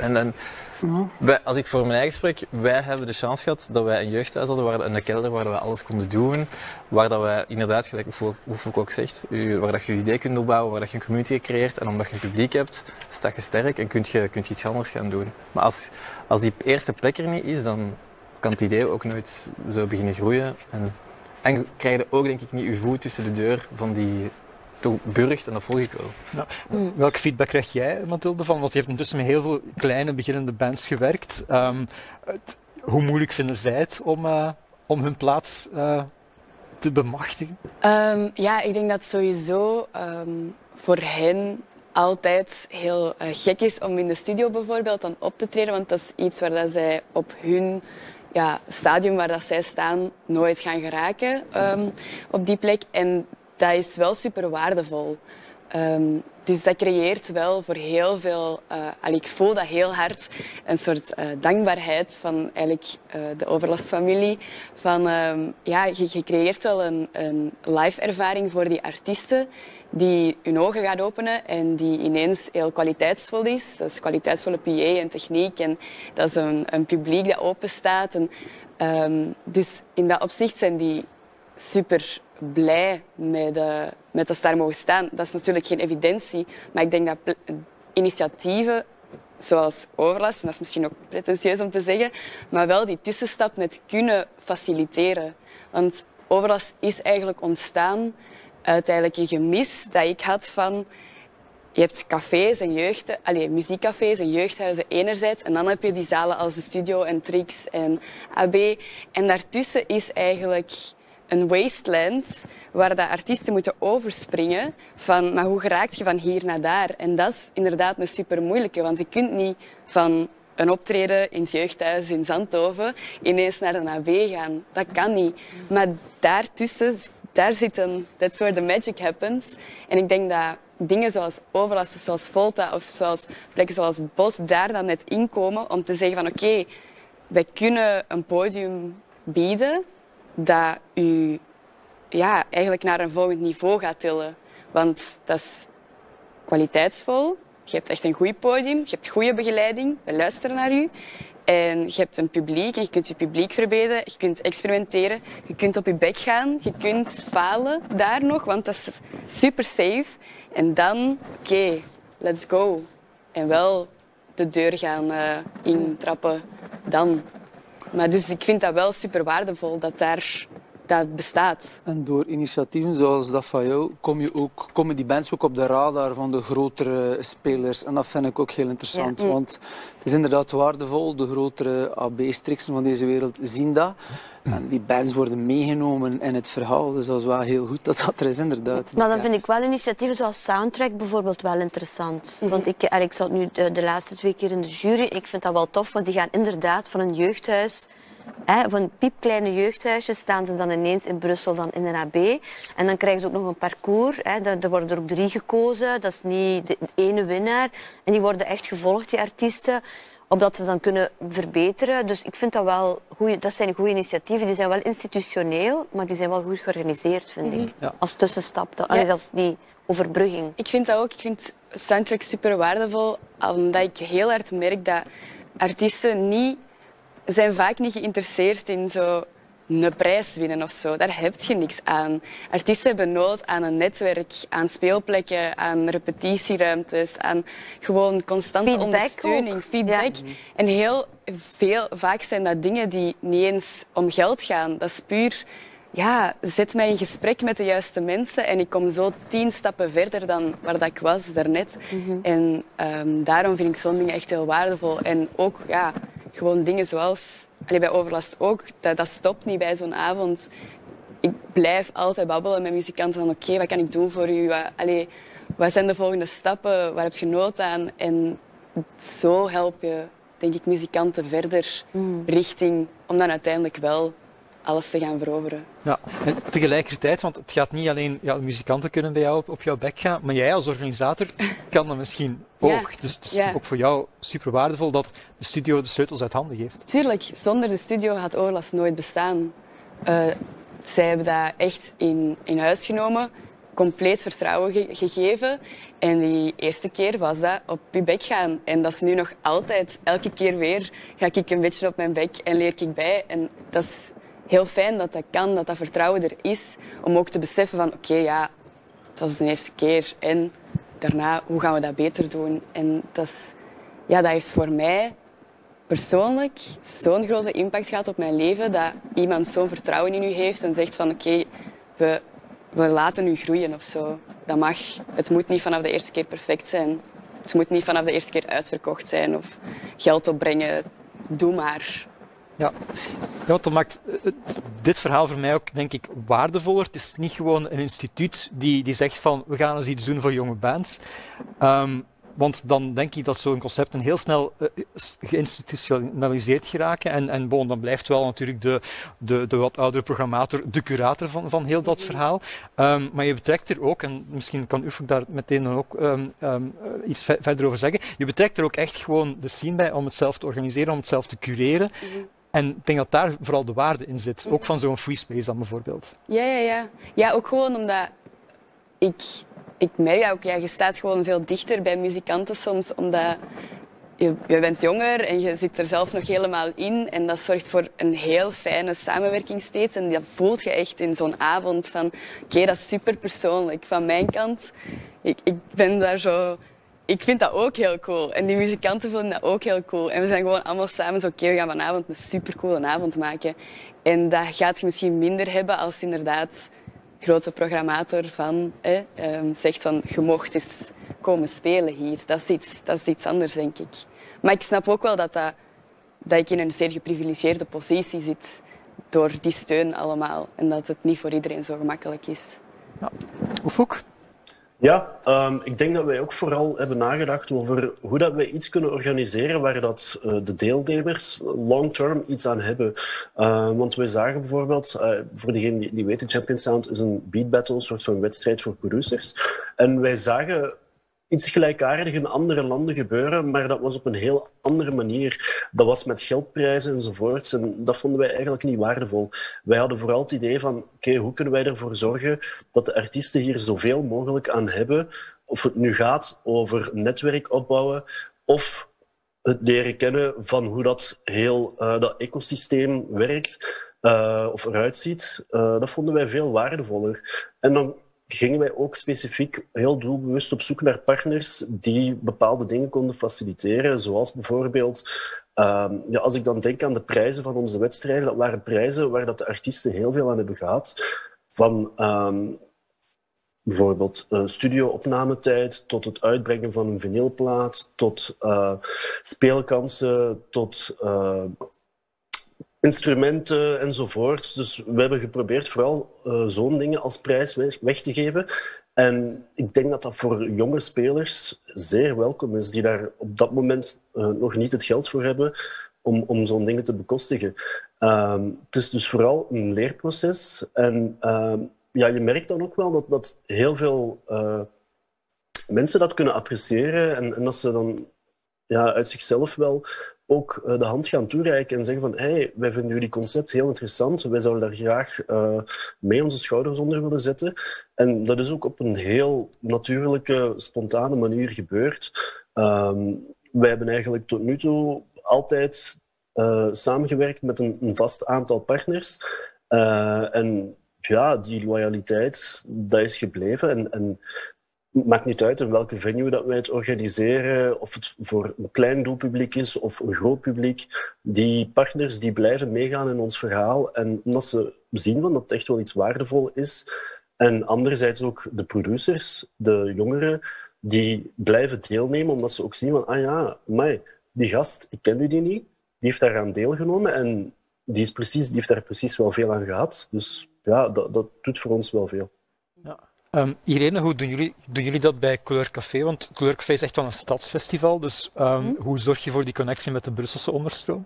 Als ik voor mijn eigen spreek, wij hebben de chance gehad dat wij een jeugdhuis hadden, een kelder waar we alles konden doen. Waar dat wij inderdaad, gelijk Oefuk ook zegt, waar dat je je idee kunt opbouwen, waar dat je een community creëert. En omdat je een publiek hebt, sta je sterk en kun je iets anders gaan doen. Maar als die eerste plek er niet is, dan kan het idee ook nooit zo beginnen groeien. En krijg je ook denk ik niet je voet tussen de deur van die... burgt en dat volg ik wel. Ja. Welke feedback krijg jij, Mathilde, van? Want je hebt intussen met heel veel kleine beginnende bands gewerkt. Hoe moeilijk vinden zij het om hun plaats te bemachtigen? Ik denk dat sowieso voor hen altijd heel gek is om in de studio bijvoorbeeld dan op te treden, want dat is iets waar dat zij op hun stadium waar dat zij staan nooit gaan geraken op die plek. En dat is wel super waardevol. Dus dat creëert wel voor heel veel... ik voel dat heel hard. Een soort dankbaarheid van eigenlijk de Overlast-familie. Je creëert wel een live ervaring voor die artiesten die hun ogen gaat openen en die ineens heel kwaliteitsvol is. Dat is kwaliteitsvolle PA en techniek en dat is een publiek dat open staat. Dus in dat opzicht zijn die super blij met dat ze daar mogen staan. Dat is natuurlijk geen evidentie, maar ik denk dat initiatieven zoals Overlast, en dat is misschien ook pretentieus om te zeggen, maar wel die tussenstap net kunnen faciliteren. Want Overlast is eigenlijk ontstaan uit eigenlijk een gemis dat ik had van... Je hebt cafés en muziekcafés en jeugdhuizen enerzijds en dan heb je die zalen als de Studio en Trix en AB. En daartussen is eigenlijk een wasteland waar de artiesten moeten overspringen van maar hoe geraakt je van hier naar daar? En dat is inderdaad een super moeilijke, want je kunt niet van een optreden in het jeugdhuis in Zandhoven ineens naar de AB gaan. Dat kan niet. Maar daartussen, that's where the magic happens. En ik denk dat dingen zoals Overlast, zoals Volta of zoals plekken zoals het Bos daar dan net inkomen om te zeggen van oké, wij kunnen een podium bieden dat u ja, eigenlijk naar een volgend niveau gaat tillen. Want dat is kwaliteitsvol. Je hebt echt een goed podium, je hebt goede begeleiding, we luisteren naar u. En je hebt een publiek en je kunt je publiek verbeteren, je kunt experimenteren, je kunt op je bek gaan, je kunt falen daar nog, want dat is super safe. En dan, oké, let's go. En wel de deur gaan intrappen dan. Maar dus ik vind dat wel super waardevol dat bestaat. En door initiatieven zoals dat van jou komen die bands ook op de radar van de grotere spelers. En dat vind ik ook heel interessant. Ja. Want het is inderdaad waardevol. De grotere AB-striksen van deze wereld zien dat. En die bands worden meegenomen in het verhaal. Dus dat is wel heel goed dat dat er is, inderdaad. Maar dan vind ik wel initiatieven zoals Soundtrack bijvoorbeeld wel interessant. Want ik zat nu de laatste 2 keer in de jury. Ik vind dat wel tof, want die gaan inderdaad van een jeugdhuis... van piepkleine jeugdhuisjes staan ze dan ineens in Brussel, dan in een AB. En dan krijgen ze ook nog een parcours. Er worden er ook 3 gekozen. Dat is niet de ene winnaar. En die worden echt gevolgd, die artiesten, opdat ze dan kunnen verbeteren. Dus ik vind dat wel goeie, dat zijn goede initiatieven. Die zijn wel institutioneel, maar die zijn wel goed georganiseerd, vind ik. Ja. Als tussenstap, als die overbrugging. Ik vind dat ook. Ik vind Soundtrack super waardevol, omdat ik heel hard merk dat artiesten zijn vaak niet geïnteresseerd in zo een prijs winnen of zo. Daar heb je niks aan. Artiesten hebben nood aan een netwerk, aan speelplekken, aan repetitieruimtes, aan gewoon constante Feedback ondersteuning, ook. feedback. Ja. En vaak zijn dat dingen die niet eens om geld gaan. Dat is puur, ja, zet mij in gesprek met de juiste mensen en ik kom zo 10 stappen verder dan waar dat ik was daarnet. En daarom vind ik zo'n dingen echt heel waardevol. En ook, ja, gewoon dingen zoals... bij Overlast ook, dat stopt niet bij zo'n avond. Ik blijf altijd babbelen met muzikanten van oké, wat kan ik doen voor u? Wat zijn de volgende stappen? Waar heb je nood aan? En zo help je, denk ik, muzikanten verder richting om dan uiteindelijk wel alles te gaan veroveren. Ja, en tegelijkertijd, want het gaat niet alleen... Ja, de muzikanten kunnen bij jou op jouw bek gaan, maar jij als organisator kan dat misschien ook. Ja. Dus het is ook voor jou super waardevol dat de studio de sleutels uit handen geeft. Tuurlijk, zonder de studio had Overlast nooit bestaan. Zij hebben dat echt in huis genomen, compleet vertrouwen gegeven. En die eerste keer was dat op je bek gaan. En dat is nu nog altijd. Elke keer weer ga ik een beetje op mijn bek en leer ik bij. En dat is heel fijn dat dat kan, dat dat vertrouwen er is. Om ook te beseffen van oké, ja, het was de eerste keer. En daarna, hoe gaan we dat beter doen? En dat heeft voor mij persoonlijk zo'n grote impact gehad op mijn leven, dat iemand zo'n vertrouwen in u heeft en zegt van oké, we laten u groeien of zo. Dat mag. Het moet niet vanaf de eerste keer perfect zijn. Het moet niet vanaf de eerste keer uitverkocht zijn of geld opbrengen. Doe maar. Ja, dat maakt dit verhaal voor mij ook, denk ik, waardevoller. Het is niet gewoon een instituut die zegt van we gaan eens iets doen voor jonge bands. Want dan denk ik dat zo'n concepten heel snel geïnstitutionaliseerd geraken. En dan blijft wel natuurlijk de wat oudere programmator de curator van heel dat verhaal. Maar je betrekt er ook, en misschien kan Ufuk daar meteen dan ook iets verder over zeggen, je betrekt er ook echt gewoon de scene bij om het zelf te organiseren, om het zelf te cureren. En ik denk dat daar vooral de waarde in zit. Ook van zo'n free space dan bijvoorbeeld. Ja. Ja, ook gewoon omdat ik merk dat ook, ja, je staat gewoon veel dichter bij muzikanten soms, omdat je bent jonger en je zit er zelf nog helemaal in. En dat zorgt voor een heel fijne samenwerking steeds. En dat voelt je echt in zo'n avond van oké, dat is super persoonlijk. Van mijn kant, ik ben daar zo... Ik vind dat ook heel cool. En die muzikanten vinden dat ook heel cool. En we zijn gewoon allemaal samen zo oké, we gaan vanavond een supercoole avond maken. En dat gaat je misschien minder hebben als inderdaad grote programmator zegt van je mocht eens komen spelen hier. Dat is iets anders, denk ik. Maar ik snap ook wel dat ik in een zeer geprivilegeerde positie zit door die steun allemaal. En dat het niet voor iedereen zo gemakkelijk is. Ja. Ufuk? Ja, ik denk dat wij ook vooral hebben nagedacht over hoe dat wij iets kunnen organiseren waar dat, de deelnemers long-term iets aan hebben. Want wij zagen bijvoorbeeld, voor degenen die weten, Champion Sound is een beat battle, een soort van wedstrijd voor producers. En wij zagen iets gelijkaardigs in andere landen gebeuren, maar dat was op een heel andere manier. Dat was met geldprijzen enzovoorts en dat vonden wij eigenlijk niet waardevol. Wij hadden vooral het idee van, oké, hoe kunnen wij ervoor zorgen dat de artiesten hier zoveel mogelijk aan hebben, of het nu gaat over netwerk opbouwen of het leren kennen van hoe dat heel dat ecosysteem werkt of eruit ziet, dat vonden wij veel waardevoller. En dan gingen wij ook specifiek heel doelbewust op zoek naar partners die bepaalde dingen konden faciliteren, zoals bijvoorbeeld, als ik dan denk aan de prijzen van onze wedstrijden, dat waren prijzen waar dat de artiesten heel veel aan hebben gehad. Van bijvoorbeeld studio-opnametijd, tot het uitbrengen van een vinylplaat, tot speelkansen, tot instrumenten enzovoort. Dus we hebben geprobeerd vooral zo'n dingen als prijs weg te geven. En ik denk dat dat voor jonge spelers zeer welkom is, die daar op dat moment nog niet het geld voor hebben om zo'n dingen te bekostigen. Het is dus vooral een leerproces. En je merkt dan ook wel dat heel veel mensen dat kunnen appreciëren en dat ze dan uit zichzelf wel ook de hand gaan toereiken en zeggen van hey, wij vinden jullie concept heel interessant, wij zouden daar graag mee onze schouders onder willen zetten. En dat is ook op een heel natuurlijke, spontane manier gebeurd. Wij hebben eigenlijk tot nu toe altijd samengewerkt met een vast aantal partners. En ja, die loyaliteit, dat is gebleven. En het maakt niet uit in welke venue dat wij het organiseren, of het voor een klein doelpubliek is of een groot publiek. Die partners die blijven meegaan in ons verhaal. En omdat ze zien van dat het echt wel iets waardevol is. En anderzijds ook de producers, de jongeren, die blijven deelnemen omdat ze ook zien van, amai, die gast, ik kende die niet, die heeft daaraan deelgenomen en die heeft daar precies wel veel aan gehad. Dus ja, dat doet voor ons wel veel. Ja. Irene, hoe doen jullie dat bij Couleur Café? Want Couleur Café is echt wel een stadsfestival, dus hoe zorg je voor die connectie met de Brusselse onderstroom?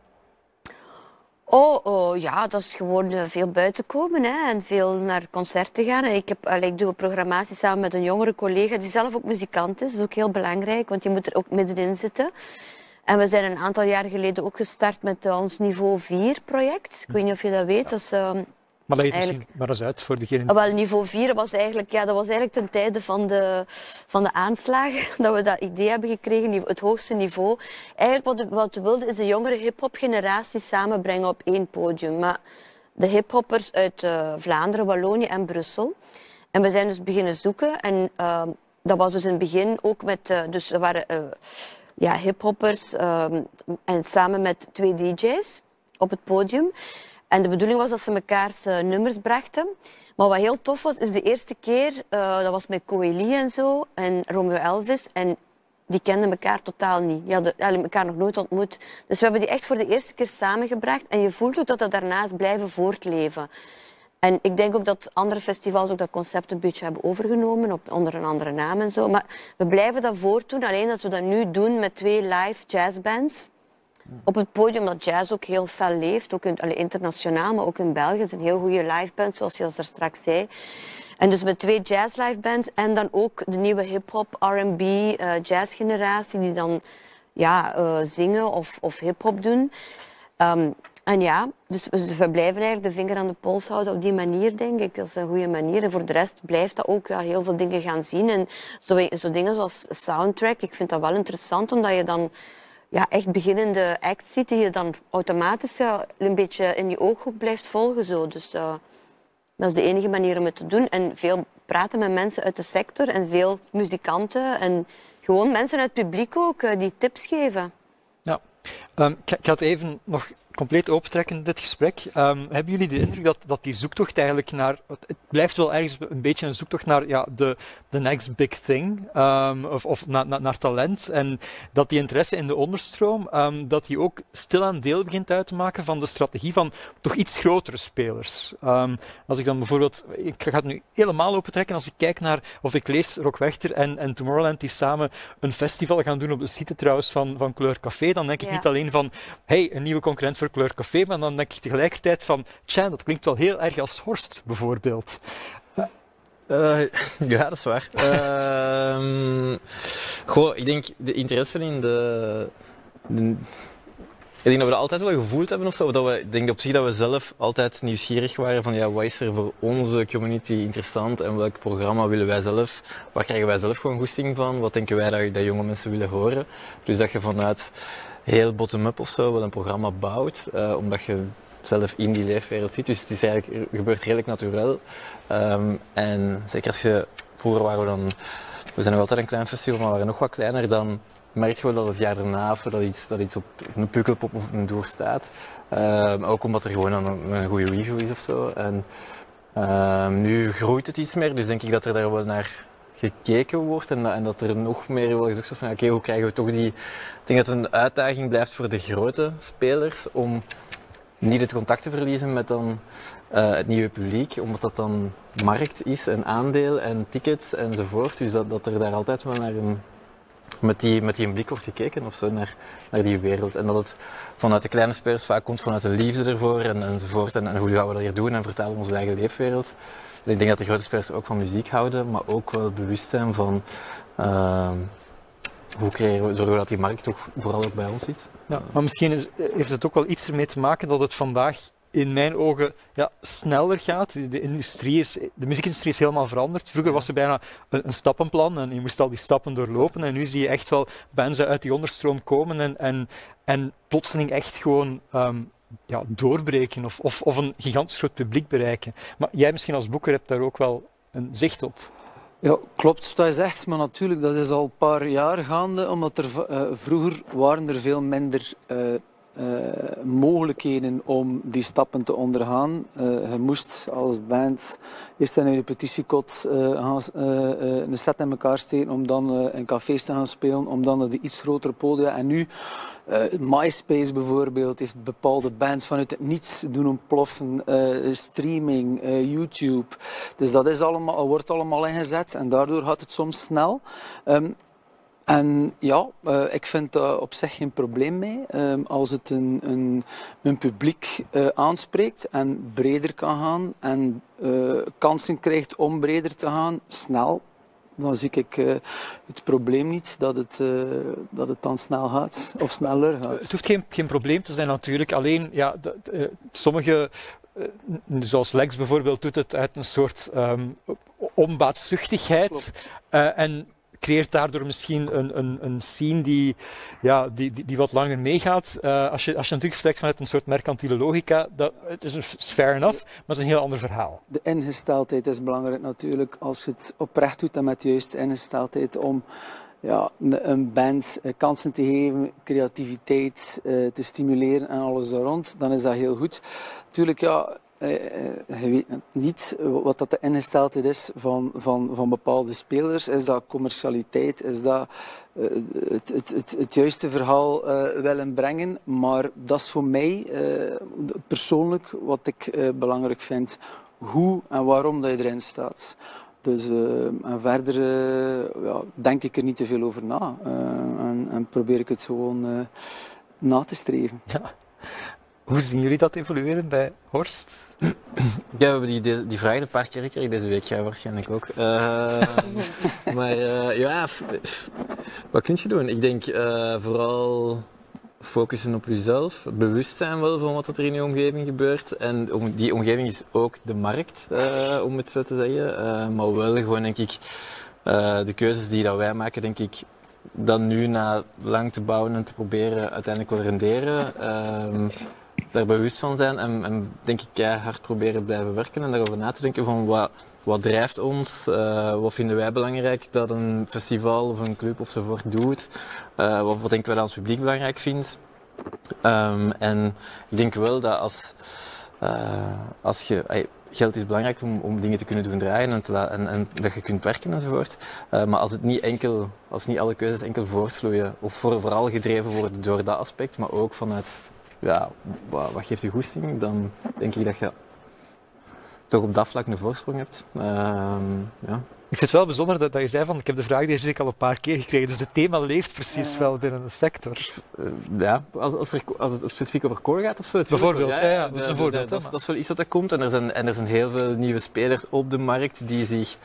Ja, dat is gewoon veel buiten komen en veel naar concerten gaan. En ik doe een programmatie samen met een jongere collega die zelf ook muzikant is. Dat is ook heel belangrijk, want je moet er ook middenin zitten. En we zijn een aantal jaar geleden ook gestart met ons Niveau 4-project. Ik weet niet of je dat weet. Dat is, maar leg het misschien maar eens uit voor degene... Wel, Niveau 4 was eigenlijk ten tijde van de aanslagen dat we dat idee hebben gekregen, het hoogste niveau. Eigenlijk wat we wilden is de jongere hip-hop generatie samenbrengen op één podium. Maar de hip-hoppers uit Vlaanderen, Wallonië en Brussel. En we zijn dus beginnen zoeken. En dat was dus in het begin ook met... dus er waren hip-hoppers en samen met 2 DJ's op het podium. En de bedoeling was dat ze mekaars nummers brachten. Maar wat heel tof was, is de eerste keer, dat was met Coeli en zo, en Romeo Elvis. En die kenden elkaar totaal niet. Die hadden elkaar nog nooit ontmoet. Dus we hebben die echt voor de eerste keer samengebracht. En je voelt ook dat dat daarna is blijven voortleven. En ik denk ook dat andere festivals ook dat concept een beetje hebben overgenomen, onder een andere naam en zo. Maar we blijven dat voortdoen, alleen dat we dat nu doen met 2 live jazzbands. Op het podium dat jazz ook heel fel leeft, ook internationaal, maar ook in België. Het is een heel goede livebands, zoals je al straks zei. En dus met 2 jazz livebands en dan ook de nieuwe hip-hop, R&B, jazzgeneratie die dan zingen of hip-hop doen. En ja, dus we blijven eigenlijk de vinger aan de pols houden op die manier, denk ik. Dat is een goede manier. En voor de rest blijft dat ook heel veel dingen gaan zien. En zo dingen zoals soundtrack, ik vind dat wel interessant, omdat je dan echt beginnende acts ziet die je dan automatisch een beetje in je ooghoek blijft volgen. Zo. Dus dat is de enige manier om het te doen. En veel praten met mensen uit de sector en veel muzikanten en gewoon mensen uit het publiek ook die tips geven. Ja, ik ga het even nog compleet opentrekken, dit gesprek. Hebben jullie de indruk dat die zoektocht eigenlijk naar... Het blijft wel ergens een beetje een zoektocht naar de next big thing, of naar talent. En dat die interesse in de onderstroom, dat die ook stilaan deel begint uit te maken van de strategie van toch iets grotere spelers. Als ik dan bijvoorbeeld... Ik ga het nu helemaal opentrekken. Als ik kijk naar... Of ik lees Rock Werchter en Tomorrowland die samen een festival gaan doen op de site trouwens van Couleur Café, dan denk ik niet alleen van hey, een nieuwe concurrent voor Couleur Café, maar dan denk ik tegelijkertijd van, dat klinkt wel heel erg als Horst, bijvoorbeeld. Ja, dat is waar. Ik denk de interesse in ik denk dat we dat altijd wel gevoeld hebben of zo. Ik denk op zich dat we zelf altijd nieuwsgierig waren van ja, wat is er voor onze community interessant en welk programma willen wij zelf, waar krijgen wij zelf gewoon goesting van, wat denken wij dat jonge mensen willen horen. Dus dat je vanuit heel bottom-up of zo wel een programma bouwt, omdat je zelf in die leefwereld zit. Dus het is eigenlijk, gebeurt redelijk natuurlijk. En zeker als je, vroeger waren we zijn nog altijd een klein festival, maar we waren nog wat kleiner, dan merk je wel dat het jaar daarna of zo, dat iets op een Pukkelpop of een Doer staat. Ook omdat er gewoon een goede review is of zo. En nu groeit het iets meer, dus denk ik dat er daar wel naar gekeken wordt en dat er nog meer wordt gezegd van oké, hoe krijgen we toch die... Ik denk dat het een uitdaging blijft voor de grote spelers om niet het contact te verliezen met dan het nieuwe publiek, omdat dat dan markt is en aandeel en tickets enzovoort. Dus dat er daar altijd wel naar met die blik wordt gekeken of zo, naar die wereld. En dat het vanuit de kleine spelers vaak komt vanuit de liefde ervoor enzovoort. En hoe gaan we dat hier doen en vertalen onze eigen leefwereld. En ik denk dat de grote spelers ook van muziek houden, maar ook wel bewust zijn van hoe zorgen we dat die markt toch vooral ook bij ons zit. Ja, maar misschien heeft het ook wel iets ermee te maken dat het vandaag in mijn ogen sneller gaat. De muziekindustrie is helemaal veranderd. Vroeger was er bijna een stappenplan en je moest al die stappen doorlopen. En nu zie je echt wel bands uit die onderstroom komen en plotseling echt gewoon doorbreken of een gigantisch groot publiek bereiken. Maar jij misschien als boeker hebt daar ook wel een zicht op. Ja, klopt wat je zegt, maar natuurlijk, dat is al een paar jaar gaande, omdat vroeger waren er veel minder mogelijkheden om die stappen te ondergaan. Je moest als band eerst in een repetitiekot een set in elkaar steken, om dan in cafés te gaan spelen, om dan naar de iets grotere podia. En nu, MySpace bijvoorbeeld, heeft bepaalde bands vanuit het niets doen ontploffen. Streaming, YouTube. Dus dat is wordt allemaal ingezet en daardoor gaat het soms snel. En ja, ik vind daar op zich geen probleem mee. Als het een publiek aanspreekt en breder kan gaan en kansen krijgt om breder te gaan, snel, dan zie ik het probleem niet dat het dan snel gaat of sneller gaat. Het hoeft geen probleem te zijn natuurlijk, alleen sommige... Zoals Lex bijvoorbeeld doet het uit een soort onbaatzuchtigheid en creëert daardoor misschien een scene die wat langer meegaat. Als je natuurlijk vertrekt vanuit een soort mercantiele logica, het is fair enough, maar het is een heel ander verhaal. De ingesteldheid is belangrijk natuurlijk, als je het oprecht doet en met de juiste ingesteldheid om een band kansen te geven, creativiteit te stimuleren en alles daar rond, dan is dat heel goed. Natuurlijk, je weet niet wat dat de ingesteldheid is van bepaalde spelers. Is dat commercialiteit? Is dat het juiste verhaal willen brengen? Maar dat is voor mij persoonlijk wat ik belangrijk vind. Hoe en waarom dat je erin staat. Dus en verder denk ik er niet te veel over na. En probeer ik het gewoon na te streven. Ja. Hoe zien jullie dat evolueren bij Horst? Ja, we hebben die vraag een paar keer gekregen deze week, jij waarschijnlijk ook. Wat kun je doen? Ik denk vooral focussen op jezelf, bewust zijn wel van wat er in je omgeving gebeurt. En die omgeving is ook de markt, om het zo te zeggen. Maar wel gewoon, denk ik, de keuzes die dat wij maken, denk ik, dan nu na lang te bouwen en te proberen uiteindelijk wel renderen. Daar bewust van zijn en denk ik hard proberen blijven werken en daarover na te denken van wat drijft ons, wat vinden wij belangrijk dat een festival of een club ofzovoort doet, wat denken wij dat ons publiek belangrijk vindt. En ik denk wel dat als je... Geld is belangrijk om dingen te kunnen doen draaien en dat je kunt werken enzovoort. Maar als niet alle keuzes enkel voortvloeien of vooral gedreven worden door dat aspect, maar ook vanuit wat geeft je goesting, dan denk ik dat je toch op dat vlak een voorsprong hebt. Ik vind het wel bijzonder dat je zei van, ik heb de vraag deze week al een paar keer gekregen, dus het thema leeft precies wel binnen de sector. Als het specifiek over core gaat of zo. Bijvoorbeeld, dat is een voorbeeld. Dat is wel iets wat er komt en er zijn heel veel nieuwe spelers op de markt die zich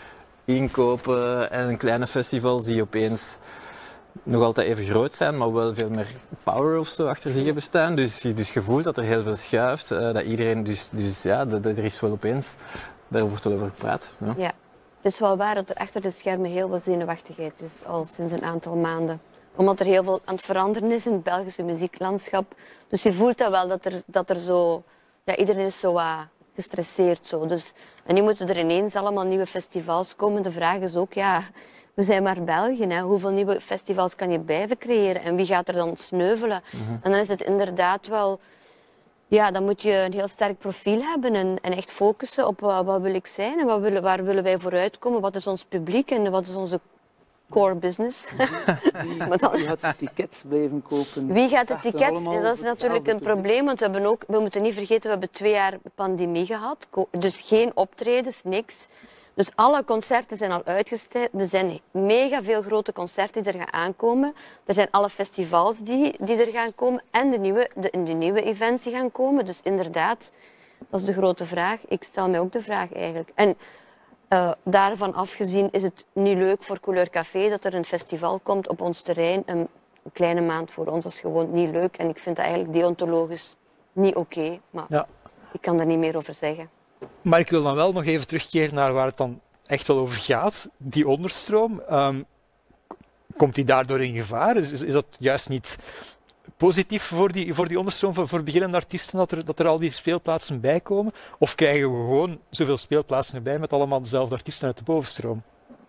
inkopen en kleine festivals die opeens nog altijd even groot zijn, maar wel veel meer power of zo achter zich hebben staan. Dus je voelt dat er heel veel schuift, dat iedereen, er is wel opeens, daar wordt wel over gepraat. Ja. Ja, het is wel waar dat er achter de schermen heel veel zenuwachtigheid is, al sinds een aantal maanden. Omdat er heel veel aan het veranderen is in het Belgische muzieklandschap. Dus je voelt dat wel, dat er zo... Ja, iedereen is zo gestresseerd. Zo. Dus, en nu moeten er ineens allemaal nieuwe festivals komen. De vraag is ook, ja, we zijn maar België. Hè. Hoeveel nieuwe festivals kan je blijven creëren? En wie gaat er dan sneuvelen? En dan is het inderdaad wel... Ja, dan moet je een heel sterk profiel hebben en echt focussen op wat wil ik zijn en waar willen wij vooruitkomen, wat is ons publiek en wat is onze core business. Wie gaat de tickets blijven kopen? Wie gaat de tickets? Dat is natuurlijk een probleem, want we moeten niet vergeten, we hebben 2 jaar pandemie gehad, dus geen optredens, niks. Dus alle concerten zijn al uitgesteld. Er zijn mega veel grote concerten die er gaan aankomen. Er zijn alle festivals die er gaan komen en de nieuwe events die gaan komen. Dus inderdaad, dat is de grote vraag. Ik stel mij ook de vraag eigenlijk. En daarvan afgezien is het niet leuk voor Couleur Café dat er een festival komt op ons terrein. Een kleine maand voor ons, dat is gewoon niet leuk. En ik vind dat eigenlijk deontologisch niet oké. Maar ja, ik kan daar niet meer over zeggen. Maar ik wil dan wel nog even terugkeren naar waar het dan echt wel over gaat. Die onderstroom, komt die daardoor in gevaar? Is dat juist niet positief voor die onderstroom, voor beginnende artiesten, dat er al die speelplaatsen bij komen? Of krijgen we gewoon zoveel speelplaatsen erbij met allemaal dezelfde artiesten uit de bovenstroom?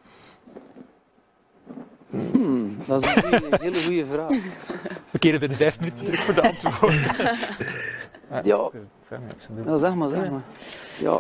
Dat is een hele goede vraag. We keren binnen 5 minuten terug voor de antwoorden. Ja, zeg maar. Ja,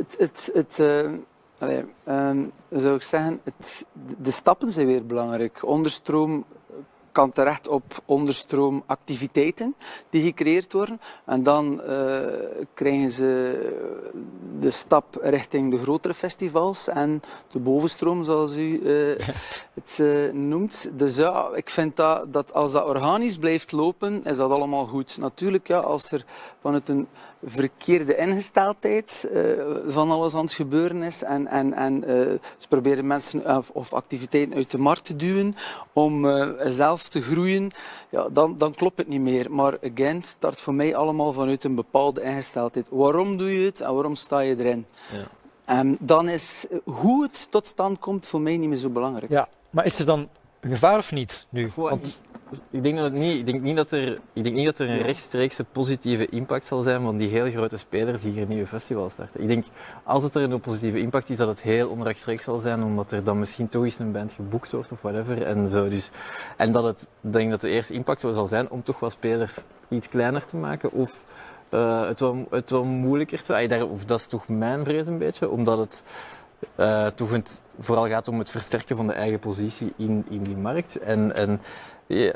zou ik zeggen, de stappen zijn weer belangrijk. Onderstroom kan terecht op onderstroomactiviteiten die gecreëerd worden. En dan krijgen ze de stap richting de grotere festivals en de bovenstroom, zoals u het noemt. Dus ja, ik vind dat als dat organisch blijft lopen, is dat allemaal goed. Natuurlijk, ja, als er vanuit een verkeerde ingesteldheid van alles aan het gebeuren is en ze proberen mensen of activiteiten uit de markt te duwen om zelf te groeien, ja, dan klopt het niet meer. Maar again, start voor mij allemaal vanuit een bepaalde ingesteldheid. Waarom doe je het en waarom sta je erin? Ja. En dan is hoe het tot stand komt voor mij niet meer zo belangrijk. Ja, maar is er dan een gevaar of niet nu? Want ik denk dat het niet. Ik denk niet dat er een rechtstreekse positieve impact zal zijn van die heel grote spelers die hier nieuwe festivals starten. Ik denk, als het er een positieve impact is, dat het heel onrechtstreeks zal zijn, omdat er dan misschien toch eens een band geboekt wordt of whatever. En zo. Dus, en dat ik denk dat de eerste impact zo zal zijn om toch wel spelers iets kleiner te maken of het wel moeilijker te... Of dat is toch mijn vrees een beetje, omdat het toch vooral gaat om het versterken van de eigen positie in die markt. En ja,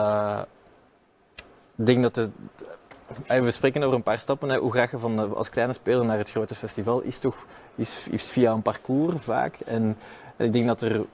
ik denk dat we spreken over een paar stappen. Hoe ga je als kleine speler naar het grote festival? Is via een parcours vaak. En ik denk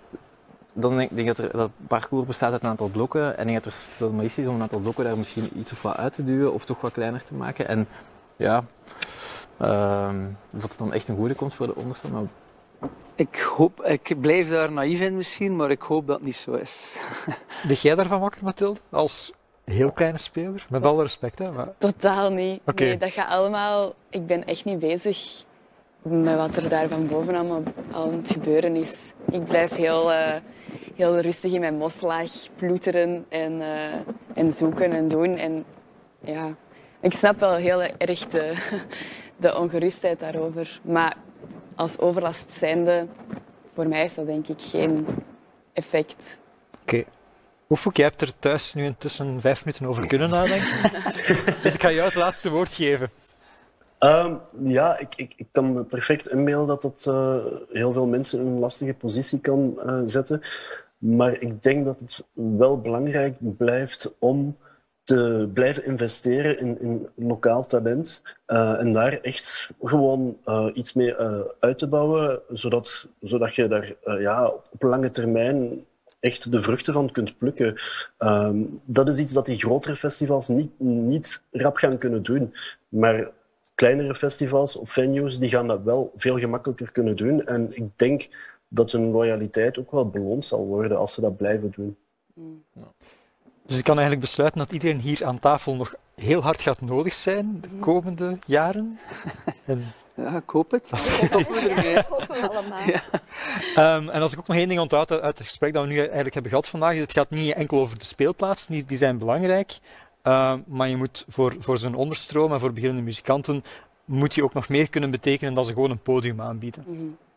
dat parcours bestaat uit een aantal blokken. En ik denk dat het maar is om een aantal blokken daar misschien iets of wat uit te duwen of toch wat kleiner te maken. En ja, of het dan echt een goede komt voor de onderste. Maar Ik blijf daar naïef in misschien, maar ik hoop dat het niet zo is. Lig jij daarvan wakker, Mathilde? Als heel kleine speler? Met alle respect, hè? Maar... Totaal niet. Okay. Nee, dat gaat allemaal... Ik ben echt niet bezig met wat er daar van boven allemaal aan het gebeuren is. Ik blijf heel rustig in mijn moslag ploeteren en zoeken en doen. En ja, ik snap wel heel erg de ongerustheid daarover. Maar als overlast zijnde, voor mij heeft dat denk ik geen effect. Oké. Oefuk, jij hebt er thuis nu intussen 5 minuten over kunnen nadenken. Dus ik ga jou het laatste woord geven. Ja, ik kan me perfect inbeelden dat het heel veel mensen in een lastige positie kan zetten. Maar ik denk dat het wel belangrijk blijft om te blijven investeren in lokaal talent en daar echt gewoon iets mee uit te bouwen, zodat je daar op lange termijn echt de vruchten van kunt plukken. Dat is iets dat die grotere festivals niet rap gaan kunnen doen. Maar kleinere festivals of venues die gaan dat wel veel gemakkelijker kunnen doen. En ik denk dat hun loyaliteit ook wel beloond zal worden als ze dat blijven doen. Dus ik kan eigenlijk besluiten dat iedereen hier aan tafel nog heel hard gaat nodig zijn de komende jaren. En Ja, ik hoop het. Hopen we allemaal. en als ik ook nog één ding onthoud uit het gesprek dat we nu eigenlijk hebben gehad vandaag, het gaat niet enkel over de speelplaatsen, die zijn belangrijk, maar je moet voor zo'n onderstroom en voor beginnende muzikanten moet je ook nog meer kunnen betekenen dan ze gewoon een podium aanbieden.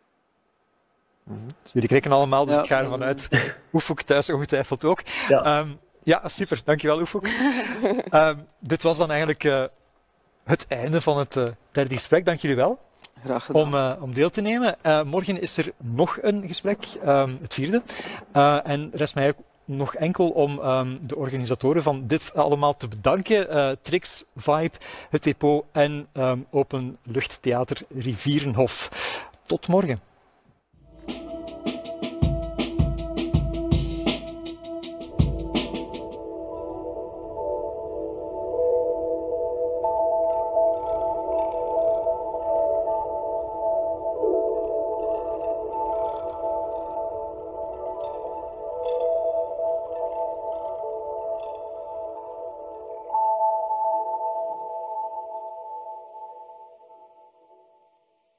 Dus jullie kijken allemaal, dus Ja. ik ga ervan uit. Oefok thuis ongetwijfeld ook. Ja. Ja, super. Dankjewel, Oefok. Dit was dan eigenlijk het einde van het derde gesprek. Dank jullie wel Graag gedaan. om deel te nemen. Morgen is er nog een gesprek, het vierde. En rest mij ook nog enkel om de organisatoren van dit allemaal te bedanken. Trix, Vibe, het Depot en Openluchttheater Rivierenhof. Tot morgen.